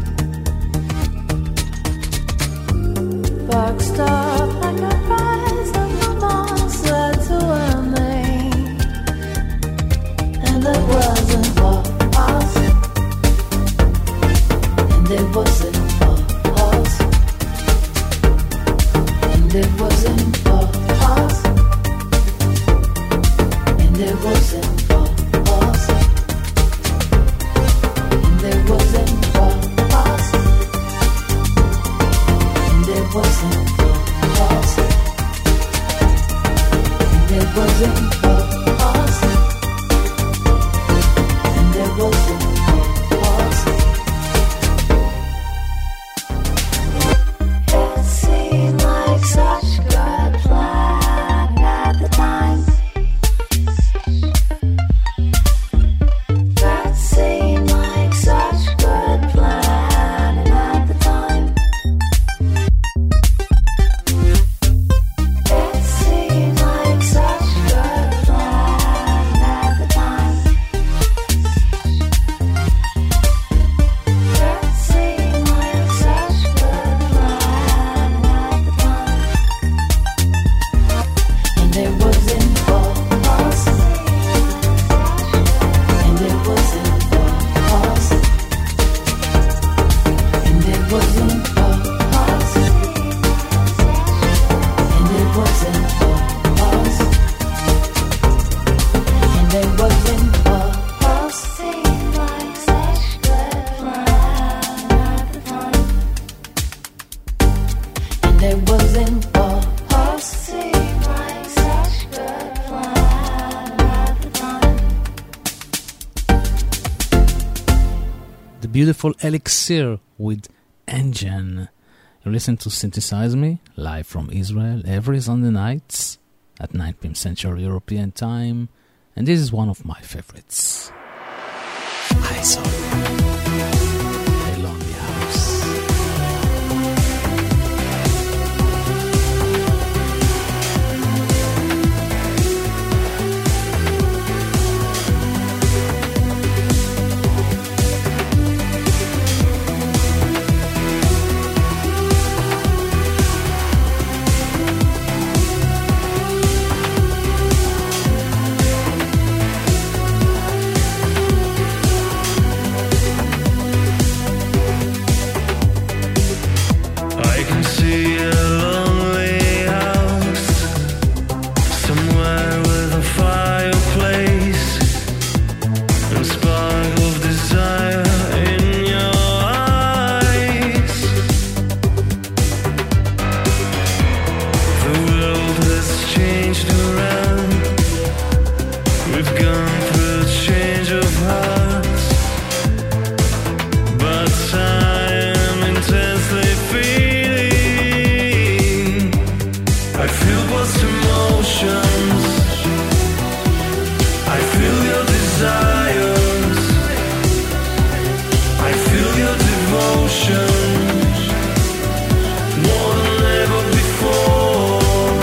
Spark stopped like a rise of a monster to a main, and it wasn't for us, and it wasn't for us, and it wasn't for us, and it wasn't for us, and it wasn't for us, and it wasn't for us, and it wasn't for us, and it wasn't for us. It seemed like such a good plan at the time. That seemed like such a good plan at the time. It seemed like such a good plan at the time. It seemed like such a good plan at the time. And it wasn't for us. And it wasn't for us. And it wasn't for us. And it wasn't for us. And it wasn't for us. Seemed like such a good plan at the time. And it wasn't for us. Seemed like such a good plan at the time. The beautiful Elixir with Engine. You listen to Synthesize Me, live from Israel, every Sunday nights at 9 p.m. Central European Time. And this is one of my favorites. I saw A Lonely House. I can see a lonely house somewhere with a fireplace and spark of desire in your eyes. The world has changed around. We've gone through a change of hearts, but I am intensely feeling. I feel both emotions. I feel your desires. I feel your devotion more than ever before.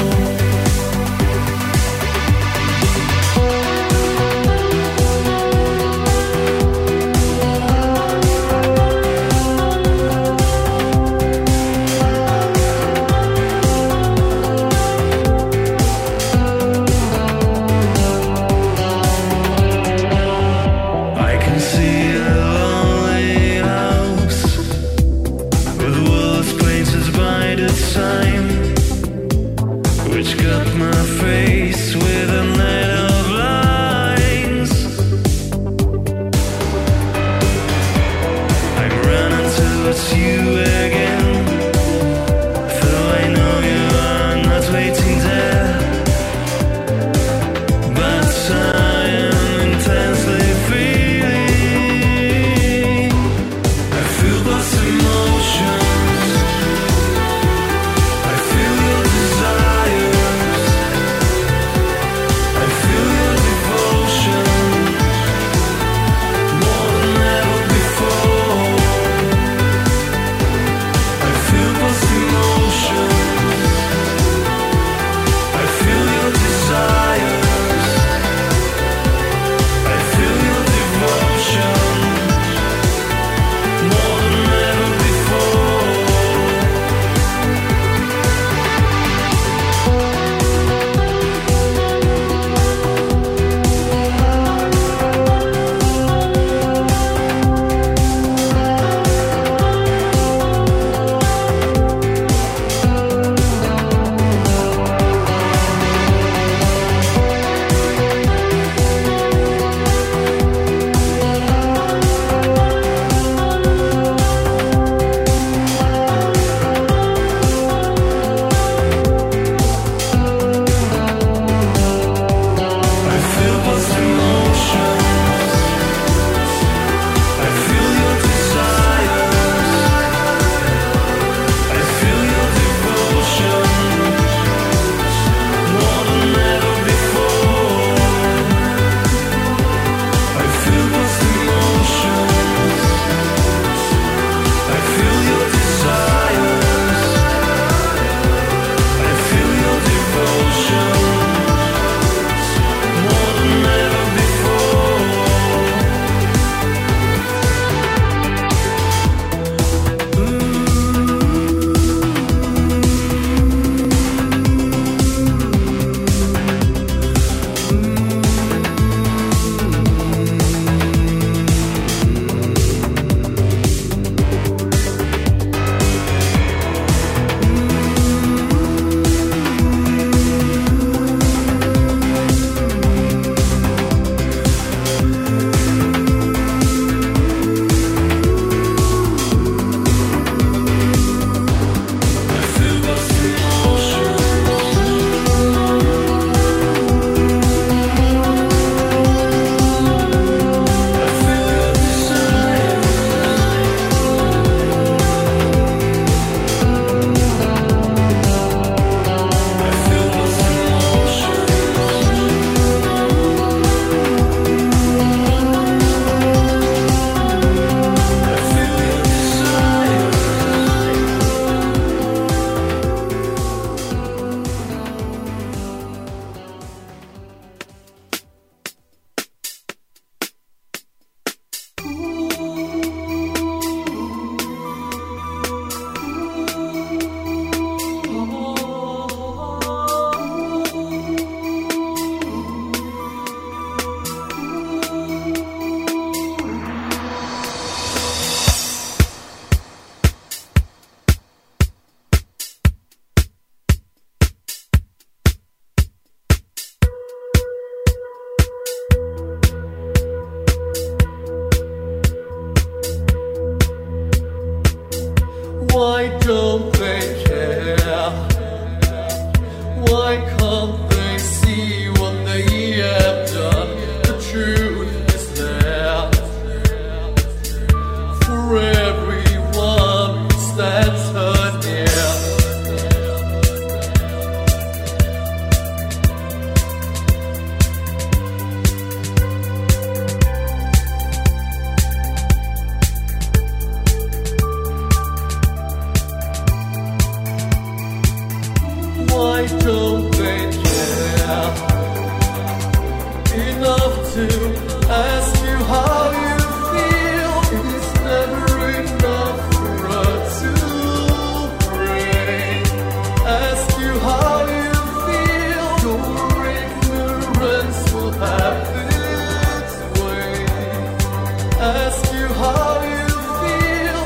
to ask you how you feel. It's never enough for us to pray. Ask you how you feel. Your ignorance will have its way. Ask you how you feel.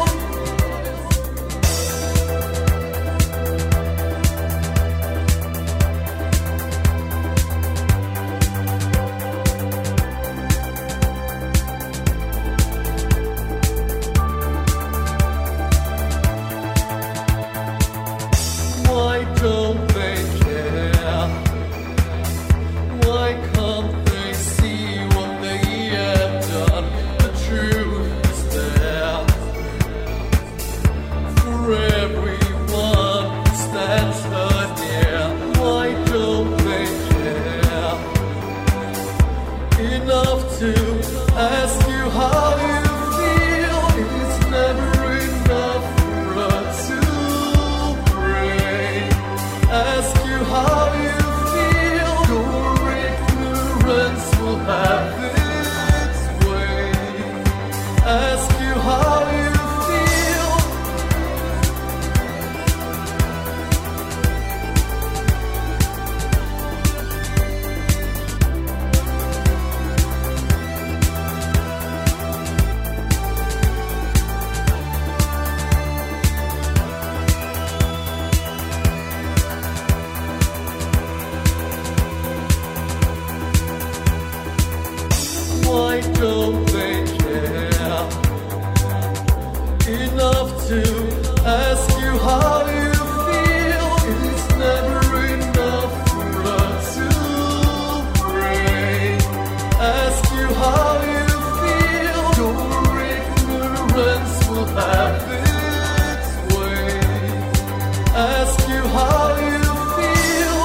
Why don't they care? Why can't they see what they have done? The truth is there for everyone who stands her near. Why don't they care enough to ask you how you feel? It's never enough for us to pray. Ask you how you feel. Your ignorance will have its way. Ask you how you feel. Why don't they care enough to ask you how you feel? It's never enough for us to pray. Ask you how you feel. Your ignorance will have its way. Ask you how you feel.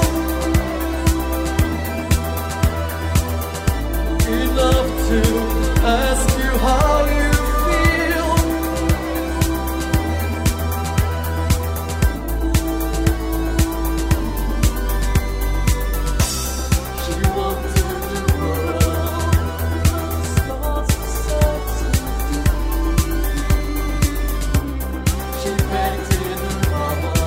Enough to ask you how you feel. She wanted the world, stars to set to She painted a mama,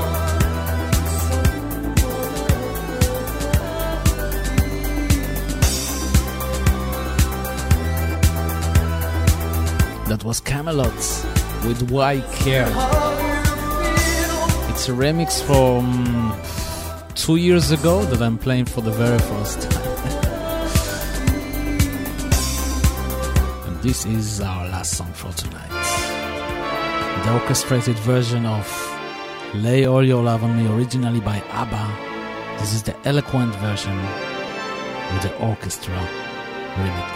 That was Camelot with Why Care. It's a remix from 2 years ago that I'm playing for the very first time. And this is our last song for tonight. The orchestrated version of Lay All Your Love on Me, originally by ABBA. This is the eloquent version with the orchestra remix.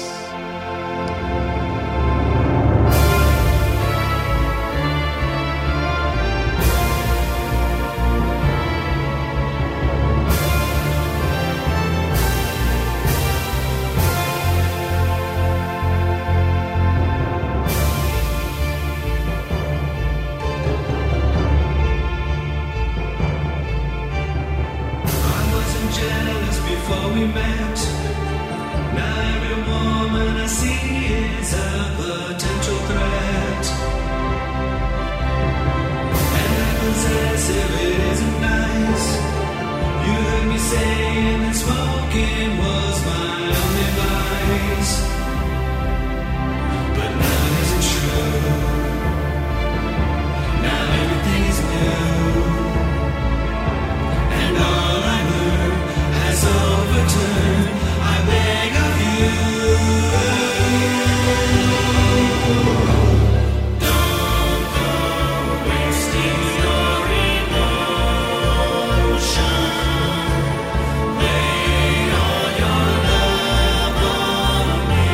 Jealous before we met. Now every woman I see is a potential threat. And I possess if it isn't nice. You heard me saying that smoking was my only vice. But now it isn't true. Now everything is new. And all I learned has overturned. I beg of you. Don't go wasting your emotion. Lay all your love on me.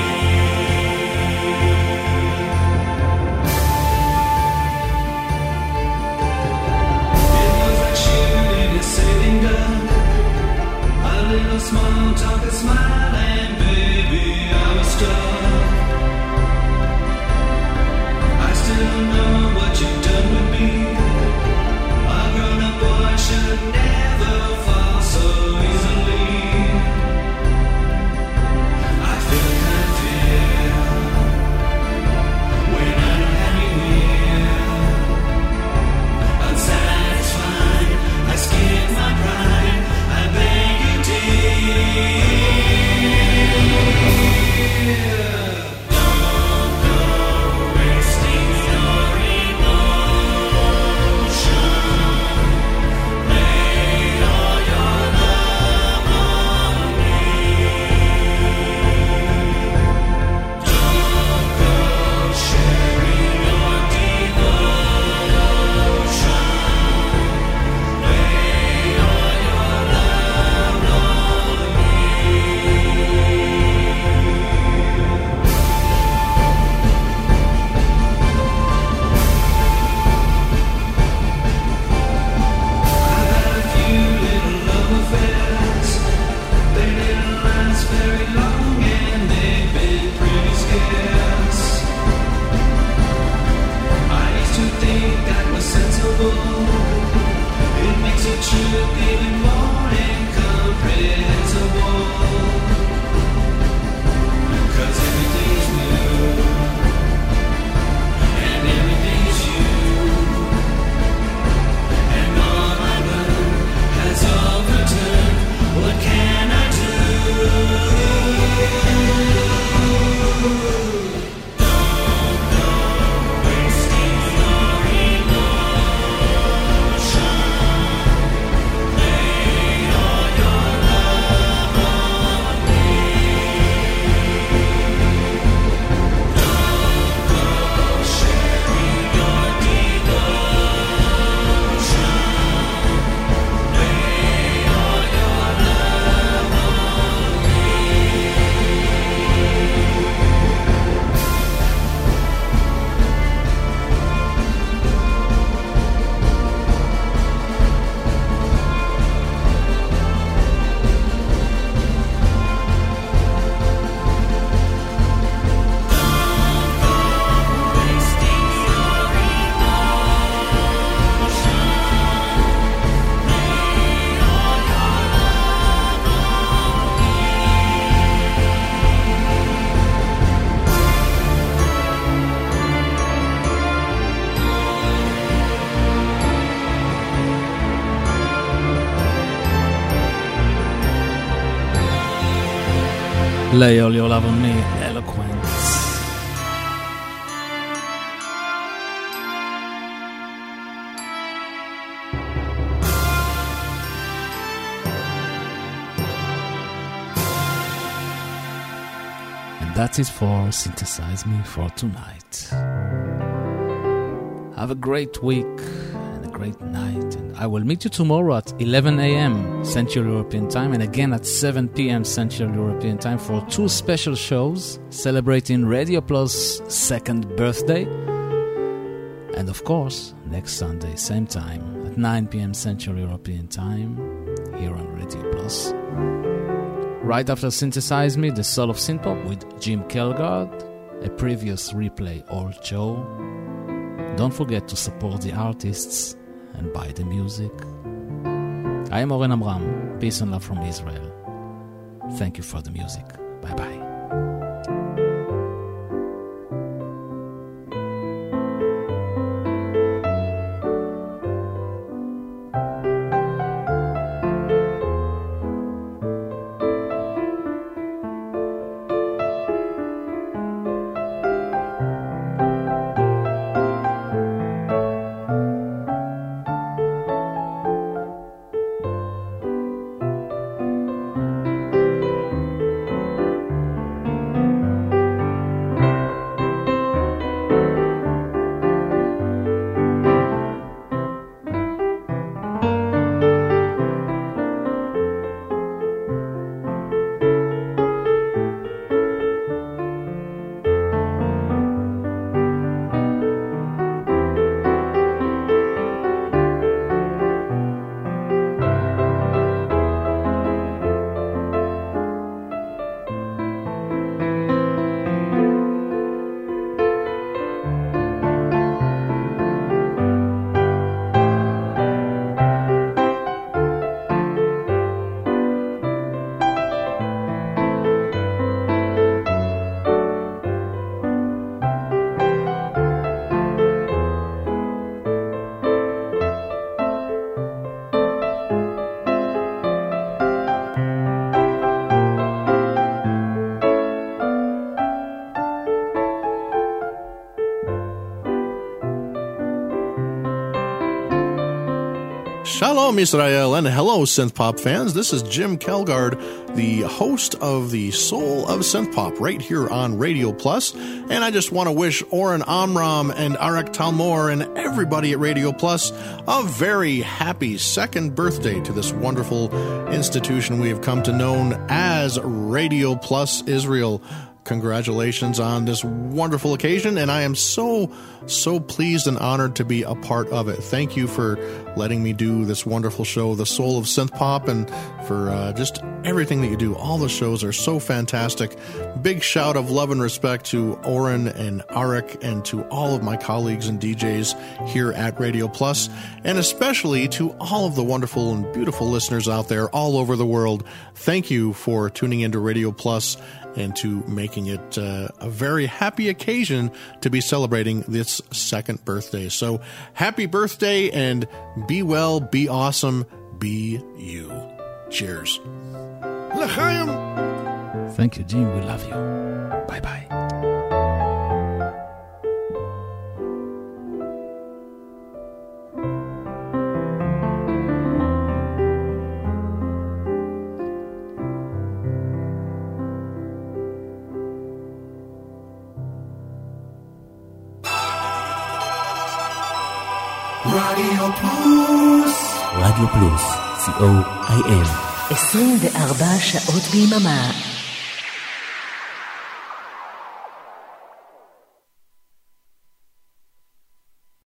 Lay all your love on me, Eloquent. And that is for Synthesize Me for tonight. Have a great week and a great night. And I will meet you tomorrow at 11 a.m. Central European Time and again at 7 p.m. Central European Time for 2 special shows celebrating Radio Plus' 2nd birthday. And of course, next Sunday, same time, at 9 p.m. Central European Time, here on Radio Plus. Right after Synthesize Me, The Soul of Synthpop with Jim Kelgard, a previous replay old show. Don't forget to support the artists and buy the music. I am Oren Amram. Peace and love from Israel. Thank you for the music. Bye-bye. Shalom Israel and hello synthpop fans. This is Jim Kelgard, the host of the Soul of Synthpop right here on Radio Plus. And I just want to wish Oren Amram and Arik Talmor and everybody at Radio Plus a very happy 2nd birthday to this wonderful institution we have come to know as Radio Plus Israel. Congratulations on this wonderful occasion, and I am so pleased and honored to be a part of it. Thank you for letting me do this wonderful show, The Soul of Synthpop, and for just everything that you do. All the shows are so fantastic. Big shout of love and respect to Oren and Arik and to all of my colleagues and DJs here at Radio Plus, and especially to all of the wonderful and beautiful listeners out there all over the world. Thank you for tuning into Radio Plus and to making it a very happy occasion to be celebrating this 2nd birthday. So happy birthday and be well, be awesome, be you. Cheers. L'chaim. Thank you, Jim. We love you. Bye-bye. רדיו פלוס. רדיו פלוס, COIM. 24 שעות ביממה.